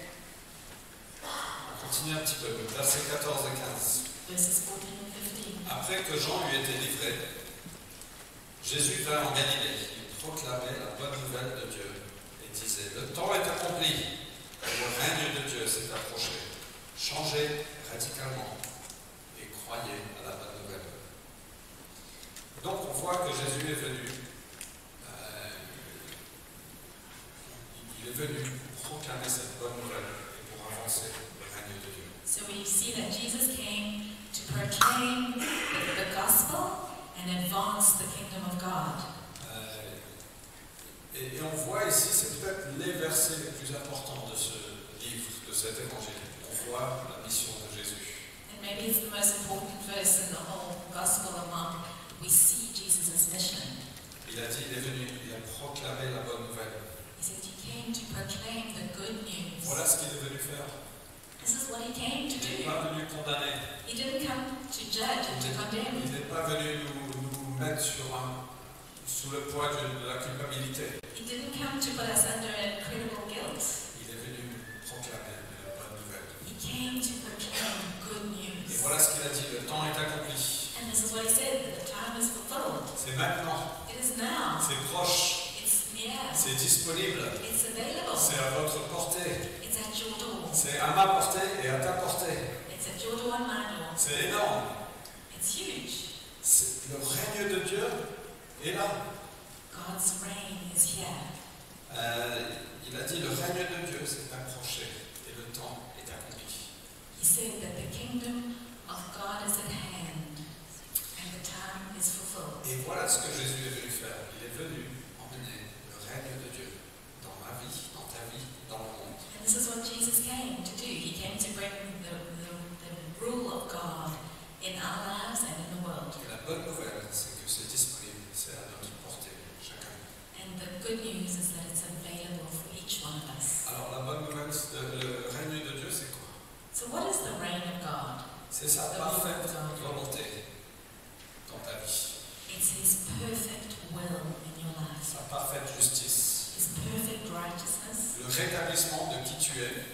On continue un petit peu, versets quatorze et quinze. Verses fourteen and fifteen. Après que Jean eut été livré, Jésus vint en Galilée. Il proclamait la bonne nouvelle de Dieu et disait: le temps est accompli, le règne de Dieu s'est approché. Changez radicalement et croyez à la bonne nouvelle. Donc on voit que Jésus est venu. Euh, il est venu pour proclamer cette bonne nouvelle et pour avancer le règne de Dieu. So we see that Jesus came to proclaim the, the gospel and advance the kingdom of God. Euh, et, et on voit ici, c'est peut-être les versets les plus importants de ce livre, de cet évangile. On voit la mission de Jésus. And maybe it's the most important verse in the whole gospel of Mark. We see Jesus' mission. Il a dit, il est venu, il a proclamé la bonne nouvelle. He said he came to proclaim the good news. Voilà ce qu'il est venu faire. This is what he came to Il n'est do. pas venu condamner. He didn't come to judge and to condemn. Il n'est pas venu nous, nous mettre sur un, sous le poids de, de la culpabilité. He didn't come to put us under incredible guilt. Il est venu proclamer la bonne nouvelle. He came to proclaim good Et news. voilà ce qu'il a dit, le temps est accompli. And this is what he said, that the time is fulfilled. C'est maintenant, It is now. c'est proche, It's near. c'est disponible, It's available. c'est à votre portée. It's at your door. C'est à ma portée et à ta portée. It's at your door and my door. C'est énorme. It's huge. C'est- le règne de Dieu est là. God's reign is here. Euh, il a dit le règne de Dieu s'est approché et le temps est accompli. He said that the kingdom of God is at hand and the time is fulfilled. Et voilà ce que Jésus est venu faire. Il est venu emmener le règne de Dieu dans ma vie, dans ta vie, dans le monde. And this is what Jesus came to do. He came to bring the, the, the rule of God in our lives and in the world. Et la bonne nouvelle, c'est que c'est disponible, c'est à notre portée, chacun. And the good news is that it's available for each one of us. Alors la bonne nouvelle, c'est de- le règne de Dieu, c'est quoi? So what is the reign of God? C'est sa parfaite volonté dans ta vie, It's His perfect will in your life. sa parfaite justice, His perfect righteousness. le rétablissement de qui tu es.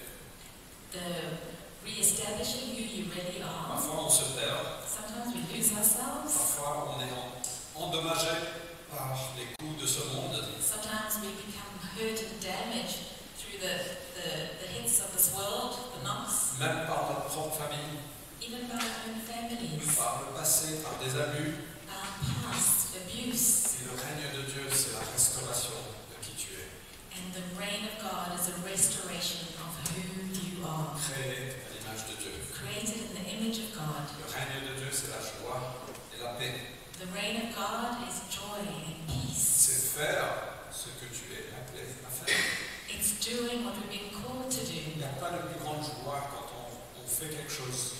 The re-establishing who you really are. Parfois on se perd, Sometimes we lose ourselves. parfois on est en- endommagé par les coups de ce monde. Sometimes we become hurt and damaged through the, the, the hits of this world, the knocks, Même par notre propre famille, even by our own families, par le passé, par des abus. our past, abuse. Et le règne de Dieu, c'est la restauration de qui tu es. And the reign of God is a restoration of who you are. Créé à l'image de Dieu. Created in the image of God. Le règne de Dieu, c'est la joie et la paix. The reign of God is joy and peace. C'est faire ce que tu es appelé à faire. It's doing what we've been called to Il do. n'y a pas de plus grande joie quand on, on fait quelque chose, on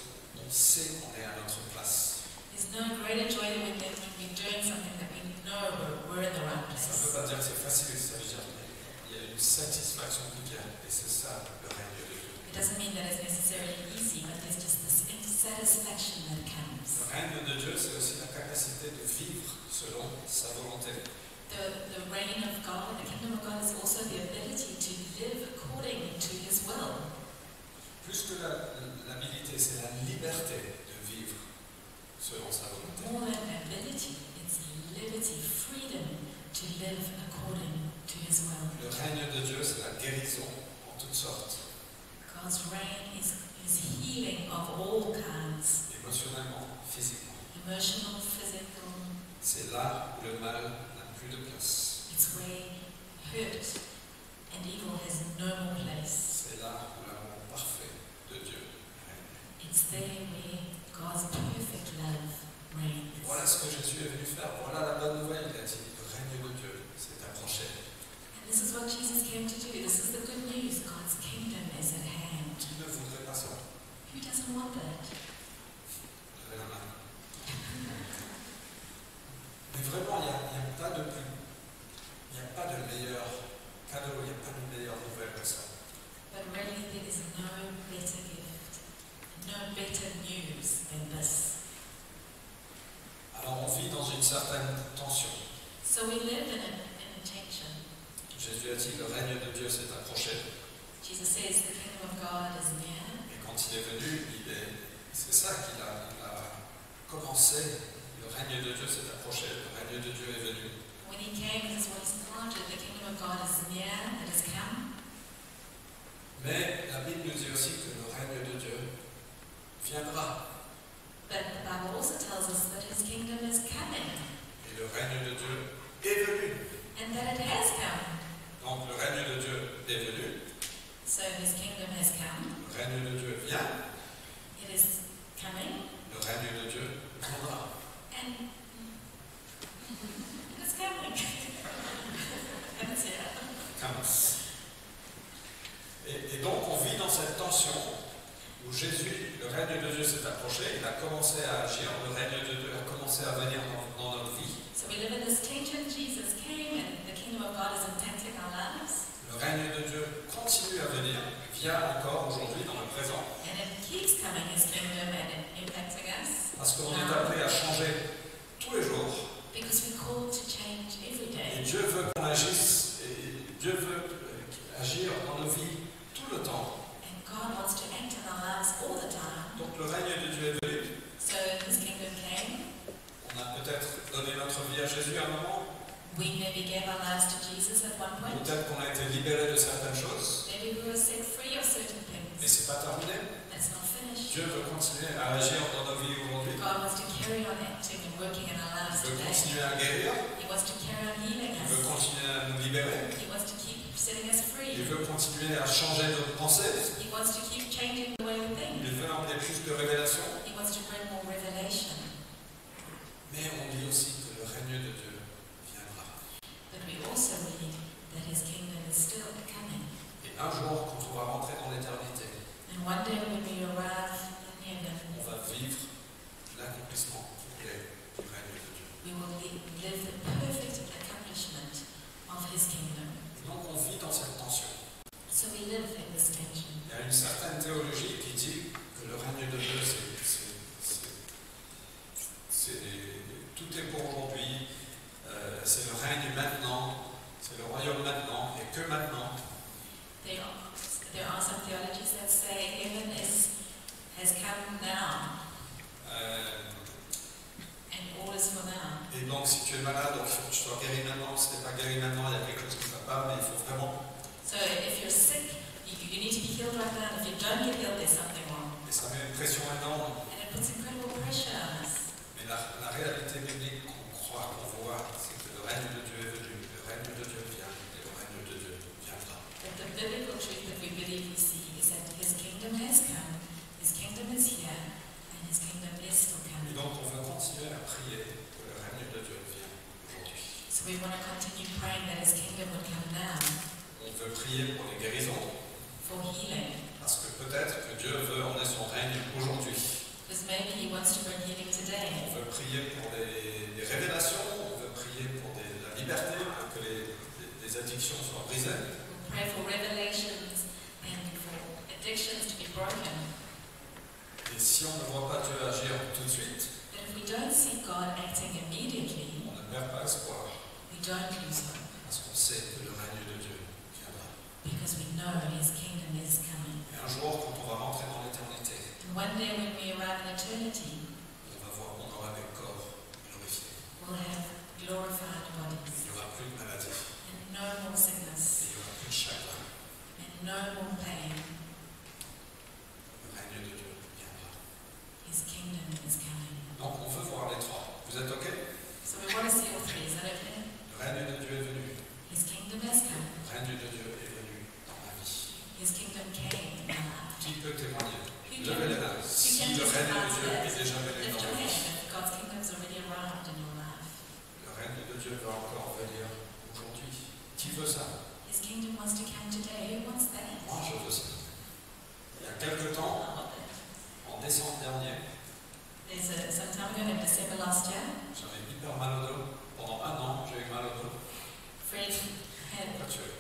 sait qu'on est à notre place. There's no greater joy than when we're doing something that we know we're, we're in the right Ça ne veut place. pas dire que c'est facile, ça veut dire qu'il y a une satisfaction qui vient. Et c'est ça le règne de Dieu. It doesn't mean that it's necessarily easy, but there's just this satisfaction that comes. Le règne de Dieu, c'est aussi la capacité de vivre selon sa volonté. The, the reign of God, the kingdom of God, is also the ability to live according to His will. Plus que la- l'habilité, c'est la liberté de vivre selon sa volonté. More than ability, it's liberty, freedom to live according to His will. Le règne de Dieu, c'est la guérison en toutes sortes, God's reign is, is healing of all kinds, émotionnellement, physiquement. emotional, physical. C'est là où le mal n'a plus de place. It's where hurt and evil has no more place. C'est là où l'amour parfait de Dieu règne. It's there where God's perfect love reigns. Et voilà ce que Jésus est venu faire. Voilà la bonne nouvelle. Il a dit, le règne de Dieu s'est approché. And this is what Jesus came to do. This is the good news. God's kingdom is at hand. Qui ne voudrait pas ça? Who doesn't want that? Levez la main. Mais vraiment, il n'y a, il y a pas de plus. Il n'y a pas de meilleur cadeau, il n'y a pas de meilleure nouvelle que ça. But really, there is no better gift, no better news than this. Alors on vit dans une certaine tension. So we live in a, in a tension. Jésus a dit, le règne de Dieu s'est approché. Jesus says the kingdom of God is near. Et quand il est venu, il est, c'est ça qu'il a, il a commencé. Le règne de Dieu s'est approché, le règne de Dieu est venu. When he came, this is what he started. The kingdom of God is near, it has come. Mais la Bible nous dit aussi que le règne de Dieu viendra. But the Bible also tells us that his kingdom is coming Et le règne de Dieu est venu. and that it has come. Donc le règne de Dieu est venu, So his kingdom has come, le règne de Dieu vient, it is coming, le règne de Dieu viendra. and it's coming. And it's here. Comes. Et, et donc on vit dans cette tension où Jésus, le règne de Dieu s'est approché, il a commencé à agir, le règne de Dieu a commencé à venir dans, dans notre vie. So we live in this tension. Jesus came and the kingdom of God is impacting our lives. Le règne de Dieu continue à venir, vient encore aujourd'hui dans le présent, And it keeps coming, his kingdom, and it impacting us. parce qu'on est appelé à changer tous les jours. Because we're called to change every Et day. Dieu veut qu'on agisse, et Dieu veut euh, agir dans nos vies tout le temps. And God wants to act in our lives all the time. Donc le règne de Dieu est venu. So his kingdom came. On a peut-être donné notre vie à Jésus à un moment. We maybe gave our lives to Jesus at one point. Peut-être qu'on a été libéré de certaines choses. Maybe we were set free of certain Mais things. ce n'est pas terminé. That's not finished. Dieu veut continuer à agir dans nos vies aujourd'hui. God wants to carry on acting and working in our lives Il veut today. continuer à guérir. He wants to carry on healing Il veut us. continuer à nous libérer. He wants to keep setting us Il free. veut continuer à changer nos pensées. He wants to keep changing the way we think. Il veut emmener plus de révélations. He wants to bring more revelation. Mais on dit aussi que le règne de Dieu viendra. But we also read that his kingdom is still coming. Et un jour, quand on va rentrer dans l'éternité, And one day when we arrive in heaven, on va vivre l'accomplissement complet du règne de Dieu. we will li- live the perfect accomplishment of his kingdom. Et donc on vit dans cette tension. So we live in this tension. Il y a une certaine théologie qui dit que le règne de Dieu, c'est, c'est, c'est, c'est- tout est pour aujourd'hui, euh, c'est le règne maintenant, c'est le royaume maintenant, et que maintenant. There are, there are some theologies that say heaven is has come now Euh, and all is for now. et donc si tu es malade, donc il faut que tu sois guéri maintenant. Si tu n'es pas guéri maintenant, il y a quelque chose qui ne va pas, mais il faut vraiment. So if you're sick, you, you need to be healed right now. If you don't get healed, there's something wrong. Et ça met une pression énorme. And it puts incredible pressure on us. Mais la, la réalité biblique qu'on croit, qu'on voit, c'est que le règne de Dieu est venu, le règne de Dieu vient, et le règne de Dieu viendra. But the biblical truth that we believe we see is that his kingdom has come, his kingdom is here, and his kingdom is still Et coming. donc on veut continuer à prier que le règne de Dieu vienne aujourd'hui. So we want to continue praying that his kingdom would come now On veut prier pour les guérisons, for healing. parce que peut-être que Dieu veut emmener son règne aujourd'hui. Because wants to bring healing today. On veut prier pour des, des révélations, on veut prier pour des- la liberté, pour que les, les- les addictions soient brisées. We'll pray for revelations and for addictions to be broken. Et si on ne voit pas Dieu agir tout de suite, But if we don't see God acting immediately, on ne perd pas espoir, we don't lose hope parce qu'on sait que le règne de Dieu viendra. because we know His kingdom is coming. Et un jour, quand on va rentrer dans l'éternité, And one day when we arrive in eternity, on va voir, on aura des corps glorifiés. we'll have glorified Il bodies n'y aura plus de maladie, and no more et sickness il n'y aura plus de chagrin. and no more pain. Le règne de Dieu viendra. His kingdom is coming. Donc, on veut voir les trois. Vous êtes OK? So we want to see all three. Is that okay? Le règne de Dieu est venu. His kingdom has come. Le règne de Dieu est venu dans ma vie. His kingdom came in our life. Qui peut témoigner? Who Levez can, les mains. who Si can le règne testify de to Dieu est that? déjà venu Lift dans your ma hand vie. if God's kingdom has already arrived in your life. Le règne de Dieu va encore venir aujourd'hui. Qui veut ça? His kingdom wants to come today. Who wants that? Moi, je veux ça. Il y a quelque temps, I want that. en décembre dernier, There's a, some time ago in December last year, j'avais hyper mal au dos. Pendant un an, j'ai eu mal au dos. Fred had Pourquoi tu es?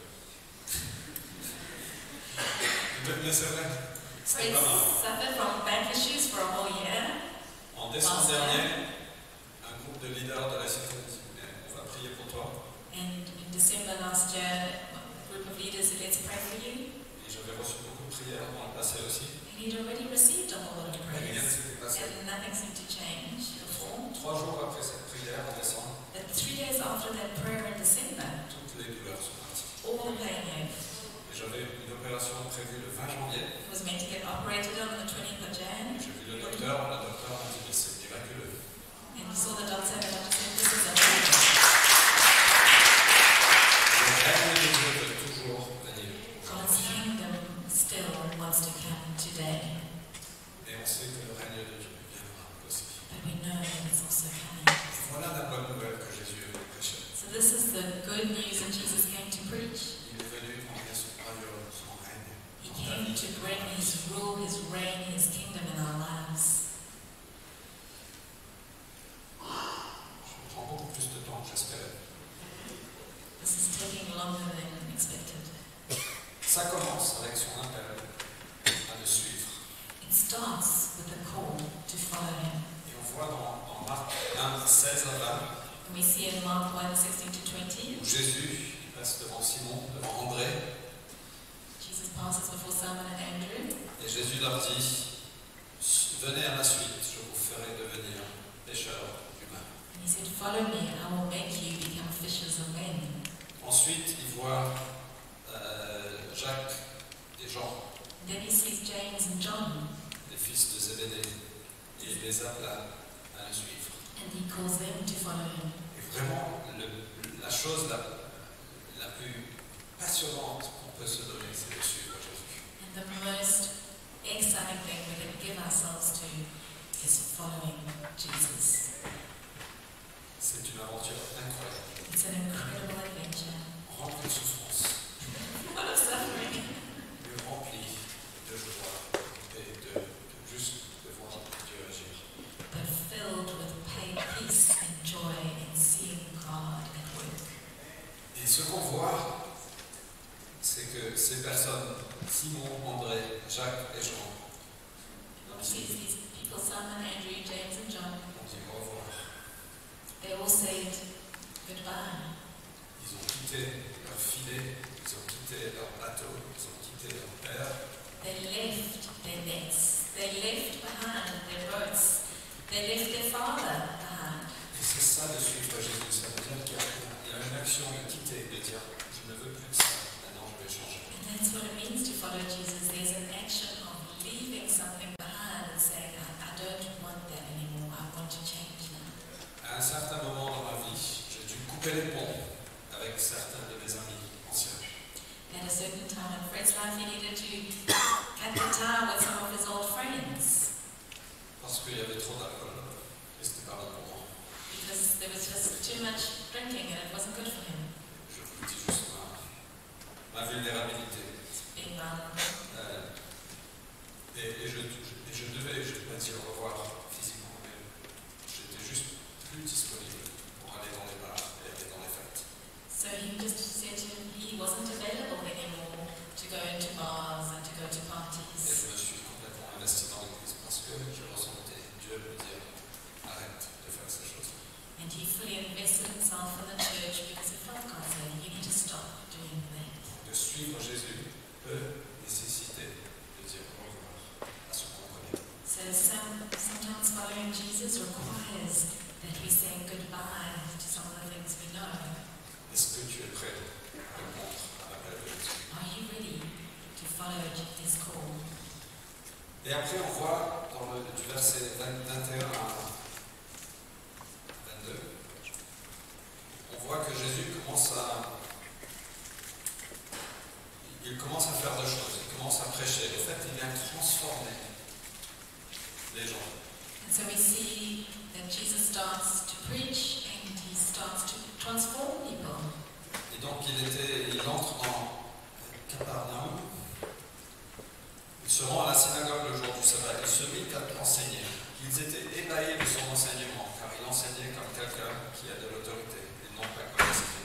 Mais c'est vrai. C'était Fred pas mal. suffered from back issues for a whole year. En décembre Last year. dernier, un groupe de leaders de la cité m'a dit, on va prier pour toi. And in December last year, a group of leaders said, let's pray for you. Et j'avais reçu beaucoup de prières dans le passé aussi. And he'd already received a whole lot of Mais rien ne prayers. s'était passé. And nothing seemed to change before. Trois jours après cette prière en décembre, But three days after that prayer in December, toutes les douleurs sont parties. all the pain left. Et j'avais une opération prévue le vingt janvier. He was meant to get operated on the twentieth of Jan. J'ai vu le docteur, le docteur m'a dit mais c'est miraculeux. And he saw the doctor and the doctor said, this is a miracle. Le règne de Dieu peut toujours venir. God's kingdom still wants to come today. Et on sait que le règne de Dieu viendra aussi. But we know that it's also coming. Voilà la bonne nouvelle que Jésus prêchait. So this is the good news that Jesus came to preach. Il est venu emmener son royaume, son règne. He dans ta came vie. to bring his rule, his reign, his kingdom in our lives. Je prends beaucoup plus de temps que j'espérais. This is taking longer than expected. Ça commence avec son appel à le suivre. It starts with a call to follow him. Et on voit dans, dans Marc un, seize à vingt, And we see in Mark one, sixteen to twenty, où Jésus il passe devant Simon, devant André, Jesus passes before Simon and Andrew. et Jésus leur dit, venez à ma suite, je vous ferai devenir pêcheurs humains. And he said, follow me, I will make you become fishers of men. Ensuite, il voit euh, Jacques et Jean, And then he sees James and John, les fils de Zébédée, et il les appelle à, à le suivre. and he calls them to follow him. Et vraiment, le, la chose la, la plus passionnante qu'on peut se donner, c'est de suivre Jésus. And the most exciting thing we can give ourselves to is following Jesus. C'est une aventure incroyable, It's an incredible adventure. remplie de souffrance, What a suffering! mais remplie de joie et de, de juste de voir Dieu agir. But filled with pain, peace and joy in seeing God at work. Et ce qu'on voit, c'est que ces personnes, Simon, André, Jacques et Jean, What we see is these people, Simon, Andrew, James and John, ont dit au revoir. they all said goodbye. Ils ont quitté leur filet, ils ont quitté leur bateau, ils ont quitté leur père, They left their nets. They left behind their boats. They left their father behind. et c'est ça de suivre Jésus. Ça veut dire qu'il y a, il y a une action de quitter, de dire je ne veux plus de ça, maintenant je vais changer. And that's what it means to follow Jesus. There's an action of leaving something behind and saying, I, I don't want that anymore. I want to change now. À un certain moment dans ma vie, j'ai dû couper les ponts avec certains de mes amis anciens. At a certain time in Fred's life, he needed to cut the tie with some of his old friends Parce qu'il y avait trop d'alcool et c'était pas bon pour moi. because there was just too much drinking and it wasn't good for him. Je vous dis juste ma, ma vulnérabilité. Being vulnerable. Euh, et, et, je, je- et je devais, je devais dire au revoir physiquement, mais arrête de faire ces choses. And he fully invested himself in the church because he felt God saying, you need to stop doing that. De suivre Jésus peut nécessiter de dire au revoir à ce qu'on connaît. So some, sometimes following Jesus requires that we say goodbye to some of the things we know. Est-ce que tu es prêt à répondre à l'appel de Jésus? Are you ready to follow his call? Et après, on voit dans le, du verset vingt et un à vingt-deux, on voit que Jésus commence à, il commence à faire deux choses. Il commence à prêcher. En fait, il vient transformer les gens. And so we see that Jesus starts to preach and he starts to transform people. Et donc, il, était, il entre dans Capernaum. Il se rend à la synagogue le jour du sabbat. Il se mit à enseigner. Ils étaient ébahis de son enseignement, car il enseignait comme quelqu'un qui a de l'autorité et non pas comme l'esprit.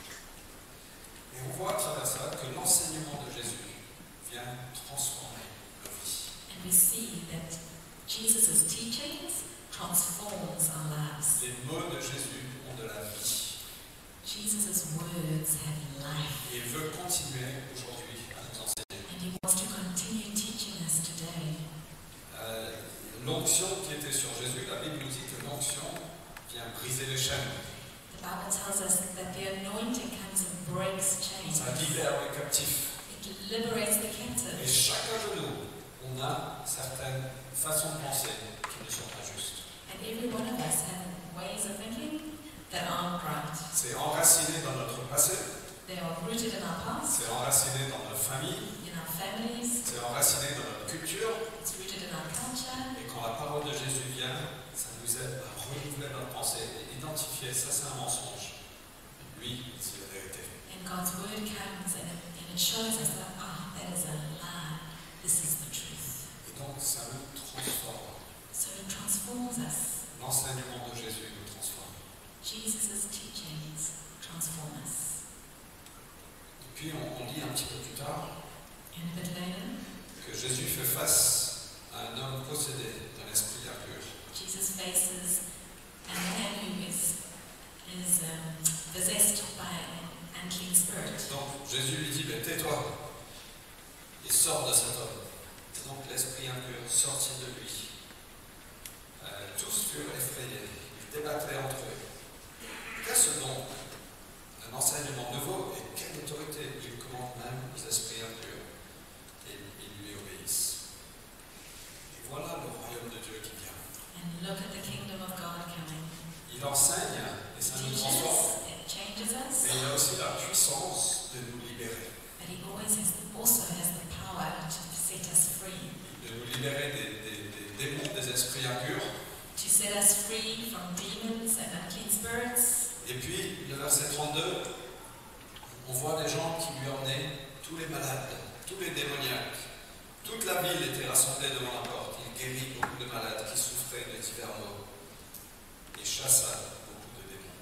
Et on voit à travers ça que l'enseignement de Jésus vient transformer nos vies. And we see that Jesus' teachings transforms our lives. Les mots de Jésus ont de la vie. Jesus' words have life. Et il veut continuer aujourd'hui à nous enseigner. And he wants to continue teaching us today. Euh, l'onction qui était sur Jésus, la Bible nous dit que l'onction vient briser les chaînes. The Bible tells us that the anointing comes and breaks chains. Ça libère les captifs. It liberates the Et captive. chacun de nous, on a certaines façons de penser qui ne sont pas justes. And every one of us have ways of thinking that aren't right. C'est enraciné dans notre passé, They are rooted in our past, c'est enraciné dans notre famille, in our families, c'est enraciné dans notre culture. it's rooted in our culture. Et quand la parole de Jésus vient, ça nous aide à renouveler notre pensée et identifier ça c'est un mensonge. Lui, c'est la vérité. And God's word comes and it, and it shows us that, ah, that is a lie. This is the truth. Et donc ça nous transforme. So it transforms us. L'enseignement de Jésus nous transforme. Jesus' teachings transform us. Et puis on, on lit un petit peu plus tard And a bit later, que Jésus fait face à un homme possédé d'un esprit impur. Jesus faces a man who is, is um, possessed by an unclean spirit. Donc Jésus lui dit, ben, tais-toi et sors de cet homme. Et donc l'esprit impur sortit de lui. Euh, tous furent effrayés, ils débattaient entre eux. Qu'est-ce donc un enseignement nouveau et quelle autorité? Il commande même aux esprits impurs et ils lui obéissent. Et voilà le royaume de Dieu qui vient. And look at the kingdom of God coming. Il enseigne et ça nous Teaches, transforme. it changes us, Mais il a aussi la puissance de nous libérer. but he always has, also has the power to set us free. De nous libérer des, des, des démons, des esprits impurs. To set us free from demons and unclean spirits. Et puis, le verset trente-deux, on voit des gens qui lui emmenaient tous les malades, tous les démoniaques. Toute la ville était rassemblée devant la porte. Il guérit beaucoup de malades qui souffraient de divers maux et chassa beaucoup de démons.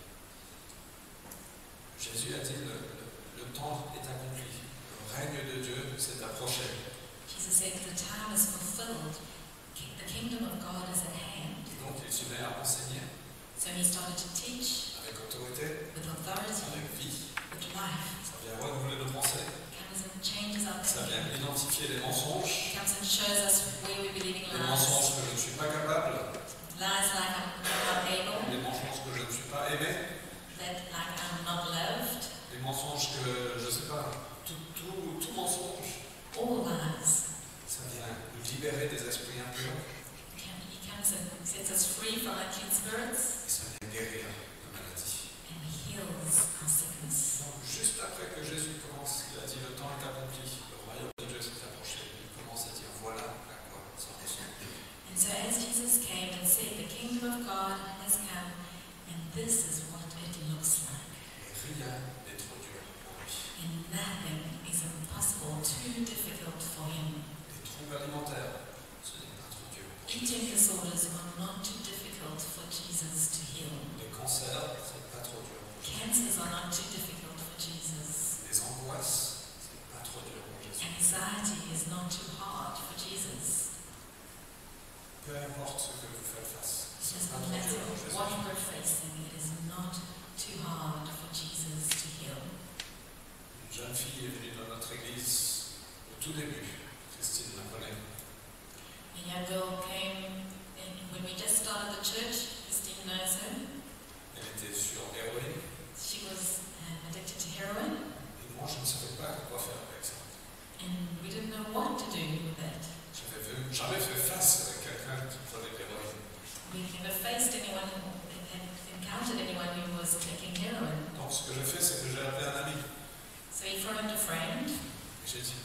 Jésus a dit, le, le, le temps est accompli. Le règne de Dieu s'est approché. Jesus said, the time is fulfilled. Ki- The kingdom of God is at hand. Et donc, il se met à enseigner So he started to teach avec autorité, with authority, avec vie. with life. Ça vient renouveler nos pensées. Comes and changes our Ça vient thinking. identifier les mensonges. Comes and shows us where we're believing Les lies. mensonges que je ne suis pas capable. Lies like I'm not able, Les mensonges que je ne suis pas aimé. that like I'm not loved. Les mensonges que, je ne sais pas, tout, tout, tout mensonge. All lies. Ça vient nous libérer des esprits impurs. He come- he comes and sets us free from unclean spirits Et ça vient guérir la maladie. and heals our sickness. Donc, juste après que Jésus commence, il a dit le temps est accompli. Le royaume de Dieu s'est approché. Il commence à dire voilà à quoi ça ressemble. And so as Jesus came and said, the kingdom of God has come, and this is what it looks like. Et rien n'est trop dur pour lui. And nothing is impossible, too difficult for him. Les troubles alimentaires, ce n'est pas trop dur. Eating disorders are not too difficult for Jesus to heal. Les cancers, c'est pas trop dur. Cancers are not too difficult for Jesus. Les angoisses, c'est pas trop dur pour Jésus. Anxiety is not too hard for Jesus. Peu importe ce que vous faites face, ce doesn't matter what we're facing, it is not too hard for Jesus to heal. Une jeune fille est venue dans notre église au tout début. Christine la connaît. A young girl came in when we just started the church. Christine knows her. Elle était sur héroïne. She was um, addicted to heroin, Et moi, je ne savais pas quoi faire avec ça. and we didn't know what to do with that. Je n'avais jamais fait face avec quelqu'un qui prenait de l'héroïne. We never faced anyone who had encountered anyone who was taking heroin. Donc, ce que j'ai fait, c'est que j'ai appelé un ami. So he phoned a friend. J'ai dit,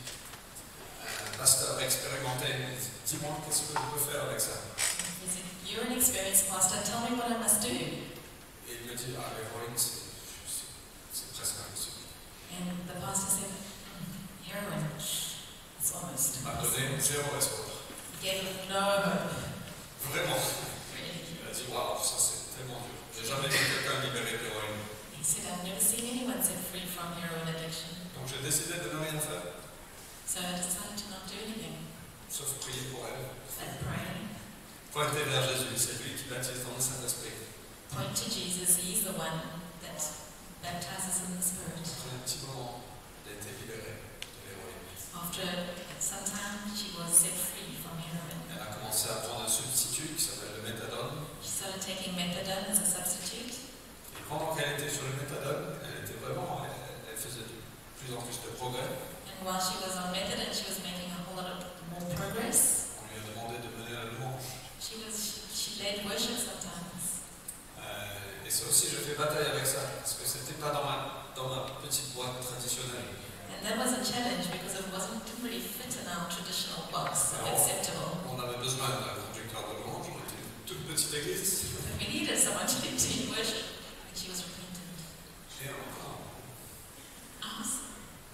un pasteur expérimenté, dis-moi, qu'est-ce que je peux faire avec ça? He said, "You're an experienced pastor. Tell me what I must do." Et il me dit, ah, l'héroïne, c'est, c'est, c'est presque impossible. And the pastor said, "Mm, "Heroin. It's almost." Il m'a donné zéro espoir. He gave him no hope. Vraiment. Really. Il m'a dit, waouh, ça c'est tellement dur. J'ai jamais vu quelqu'un libéré d'héroïne. He said, "I've never seen anyone set free from heroin addiction." Donc j'ai décidé de ne rien faire, So I decided to not do anything sauf prier pour elle. but pray. Pointer vers Jésus, c'est lui qui baptise dans le Saint-Esprit. Point to Jesus. He's the one that baptizes in the Spirit. Après un petit moment, elle a été libérée de l'héroïne. After some time, she was set free from heroin. Elle a commencé à prendre un substitut qui s'appelle le méthadone. She started taking methadone as a substitute. Et pendant qu'elle était sur le méthadone, elle était vraiment, elle, elle faisait de plus en plus de progrès. And while she was on methadone, she was making a whole lot of more progress. On lui a demandé de mener la louange. She was she, she led worship sometimes. Euh, et ça aussi, je fais bataille avec ça, parce que c'était pas dans ma, dans ma petite boîte traditionnelle. And that was a challenge because it wasn't didn't really fit in our traditional box of acceptable. On avait besoin d'un conducteur de louange, on était une toute petite église. And we needed someone to lead in worship. And she was repentant. Et encore, Awesome.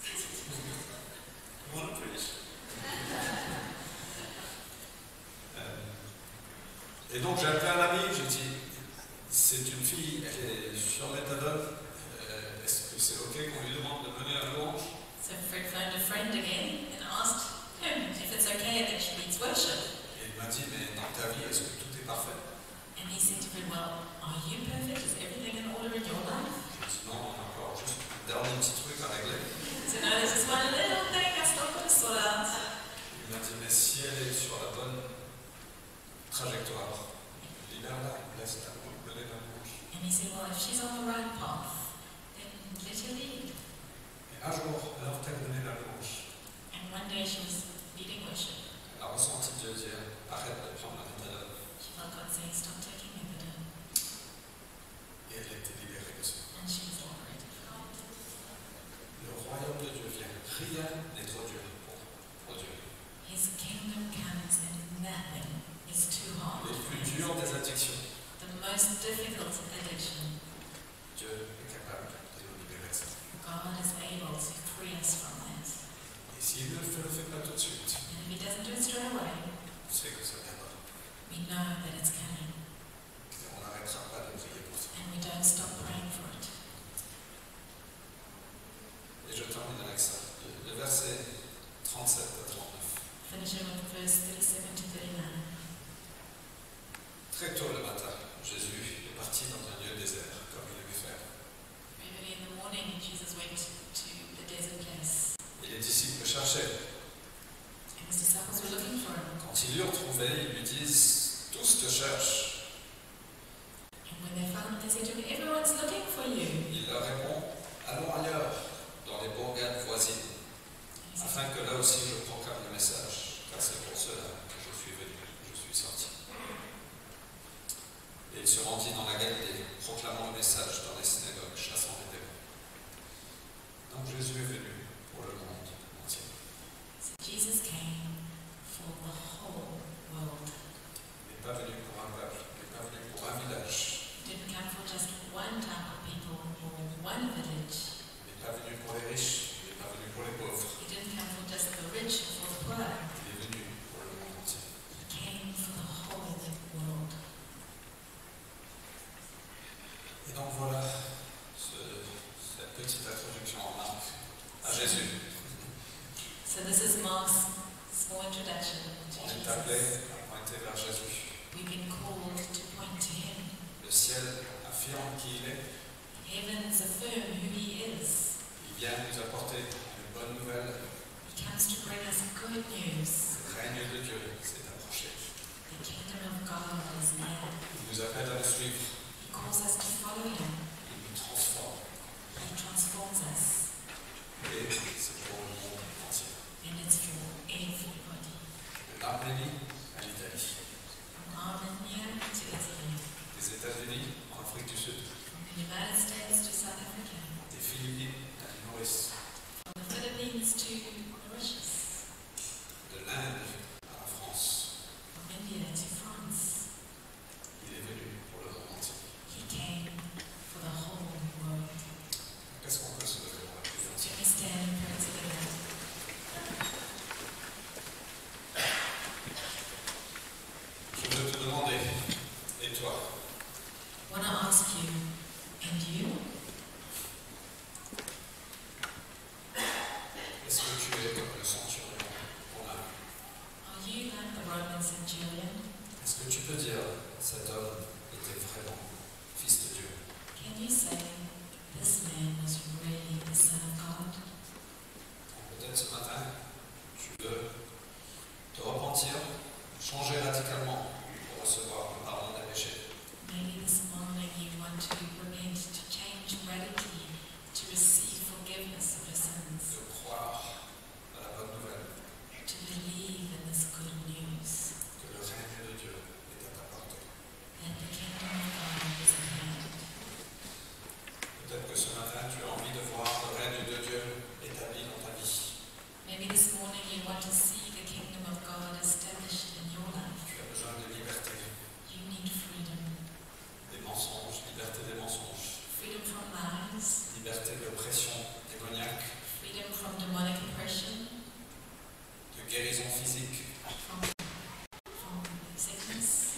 on a preach. Euh, et donc j'ai appelé un ami, j'ai dit, c'est une fille, elle est sur méthadone, euh, est-ce que c'est ok qu'on lui demande de mener la louange? So Fred phoned a friend again and asked him if it's okay that she leads worship. Et il m'a dit, mais dans ta vie, est-ce que tout est parfait? And he said to Fred, "Well, are you perfect? Is everything in order in your life?" J'ai dit, non, on a encore juste un dernier petit truc à régler. So no, there's just one little thing I still got to sort out. Il m'a dit, mais si elle est sur la bonne trajectoire, libère-la, laisse-la mener la louange. And he said, "Well, if she's on the right path, then let her lead." Et un jour, alors qu'elle menait la louange, And one day she was leading worship. elle a ressenti Dieu dire, arrête de prendre la méthadone. She felt God saying, "Stop taking methadone." Et elle a été libérée de ça. And she was liberated from it. Le royaume de Dieu vient. Rien n'est trop dur pour, pour Dieu. His kingdom comes and nothing is too hard. Les plus durs des addictions, The most difficult addiction, Dieu est capable de nous libérer de ça. God is able to free us from that. Et s'il ne le fait, le fait pas tout de suite, And if he doesn't do it straight away, on sait que ça viendra. we know that it's coming. Et on n'arrêtera pas de prier pour ça. And we don't stop praying for it. Et je termine avec ça. Le, le verset trente-sept à trente-neuf. Finishing with verse thirty-seven to thirty-nine. Très tôt le matin, Jésus est parti dans un lieu désert, comme il aimait faire. Very early in the morning, Jesus went to the desert place. Et les disciples le cherchaient. And his disciples were looking for him. Quand ils l'eurent retrouvé, ils lui disent, tous te cherchent. And when they found him, they said to him, "Everyone's looking for you." Il leur répond, allons ailleurs, dans les bourgades voisines, And he said, afin que là aussi je proclame le message, car c'est pour cela que je suis venu, je suis sorti. Et il se rendit dans la Galilée, proclamant le message dans les synagogues, chassant les démons. Donc Jésus est venu pour le monde entier. So Jesus came for the whole world. Il n'est pas venu pour un peuple, il n'est pas venu pour un village, He didn't come for just one type of people or one village. il n'est pas venu pour les riches, il n'est pas venu pour les pauvres, He didn't come for just the rich or for the poor. il est venu pour le monde entier. He came for the whole world. Et donc voilà ce, cette petite introduction en Marc à Jésus. So this is Mark's small introduction to On est appelé Jesus. à pointer vers Jésus. We've been called to point to ciel affirme qui il est. Heavens affirm who he is. Il vient nous apporter une bonne nouvelle. He comes to bring us good news. Le règne de Dieu s'est approché. The kingdom of God is near. Il nous appelle à le suivre. He calls us to follow him. Il nous transforme. He transforms us. Et c'est pour le monde entier. And it's for everybody. De l'Arménie à l'Italie. From Armenia to Italy. Des États-Unis en Afrique du Sud. From the United States to South Africa. Des Philippines à l'île Maurice. From the Philippines to Mauritius. De l'Inde à la France. From India to France. Il est venu pour le monde entier. He came for the whole world. Qu'est-ce qu'on peut se lever pour la prière? Let me stand and pray together. Je veux te demander, et toi, I want to ask you, and you, est-ce que tu es comme le centurion romain? are you like the Roman centurion? Est-ce que tu peux dire, cet homme était vraiment fils de Dieu? Can you say, this man was really the Son of God? Peut-être ce matin, tu veux te repentir, changer radicalement pour recevoir le pardon des péchés. Maybe this morning you want to repent, to change radically, to receive forgiveness of your sins, De croire à la bonne nouvelle to believe in this good news, que le règne de Dieu est à ta portée. that the kingdom of God is at hand. Peut-être que ce matin, tu as envie de voir le règne de Dieu établi dans ta vie. Maybe this morning you want to see the kingdom of God established in your life. Tu as besoin de liberté, You need freedom. des mensonges, liberté des mensonges, Freedom from lies, liberté de pression démoniaque, freedom from demonic oppression, de guérison physique, from, from sickness.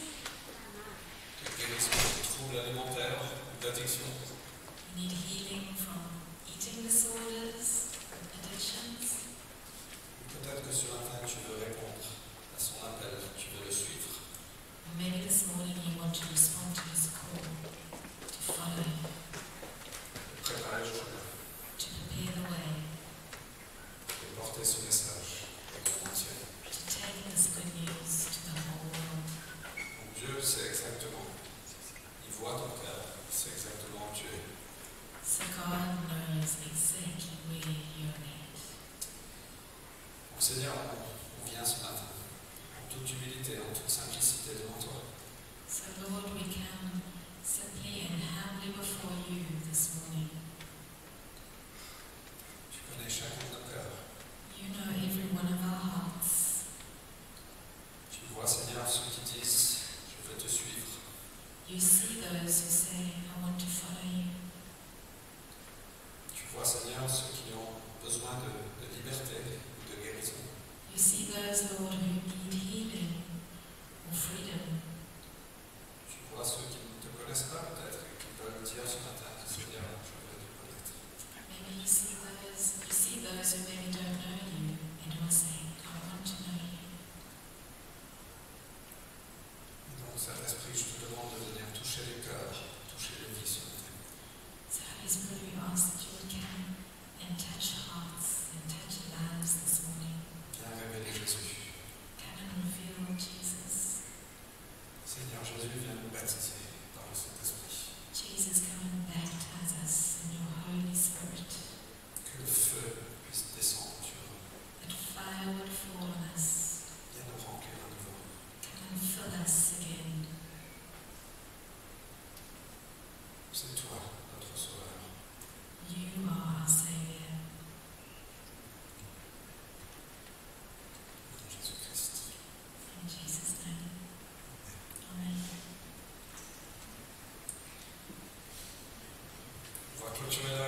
de guérison de troubles alimentaires ou d'addiction. You need healing from eating disorders, addictions. Peut-être que ce matin, tu veux répondre à son appel, tu veux le suivre. Or maybe this morning you want to respond to his call, to follow him, Préparer le chemin to prepare the way, et porter ce message au monde entier. to take this good news to the whole world. Donc Dieu sait exactement, il voit ton cœur, il sait exactement où tu es. So God knows exactly where you're at. Donc Seigneur, on, on vient ce matin, en toute humilité, en toute simplicité devant toi. So Lord, we come simply and humbly before you this morning. Tu connais chacun de nos cœurs. You know every one of our hearts. Tu vois, Seigneur, ceux qui disent, je veux te suivre. You see those who say, I want to follow you. Tu vois, Seigneur, ceux qui ont besoin de, de liberté ou de guérison. You see those, Lord, who need healing or freedom. Tu vois ceux qui ne te connaissent pas peut-être et qui veulent dire ce matin, Seigneur, je veux te connaître. Maybe you see those, you see those who maybe don't know you and who are saying, I want to know you. Et donc, Saint-Esprit, je te demande de venir toucher les cœurs, toucher les vies ce matin. So Holy Spirit, we ask that you would come and touch hearts and touch lives this morning. Viens révéler Jésus. Come and reveal Jesus. Seigneur Jésus, viens nous baptiser par le Saint-Esprit. Jesus, come and baptize us in your Holy Spirit. Que le feu puisse descendre sur nous. That fire would fall on us. Viens nous remplir à nouveau. Come and fill us again. C'est toi, notre Sauveur. You are our Savior. En Jésus-Christ. In Jesus' name. Amen. On va clôturer la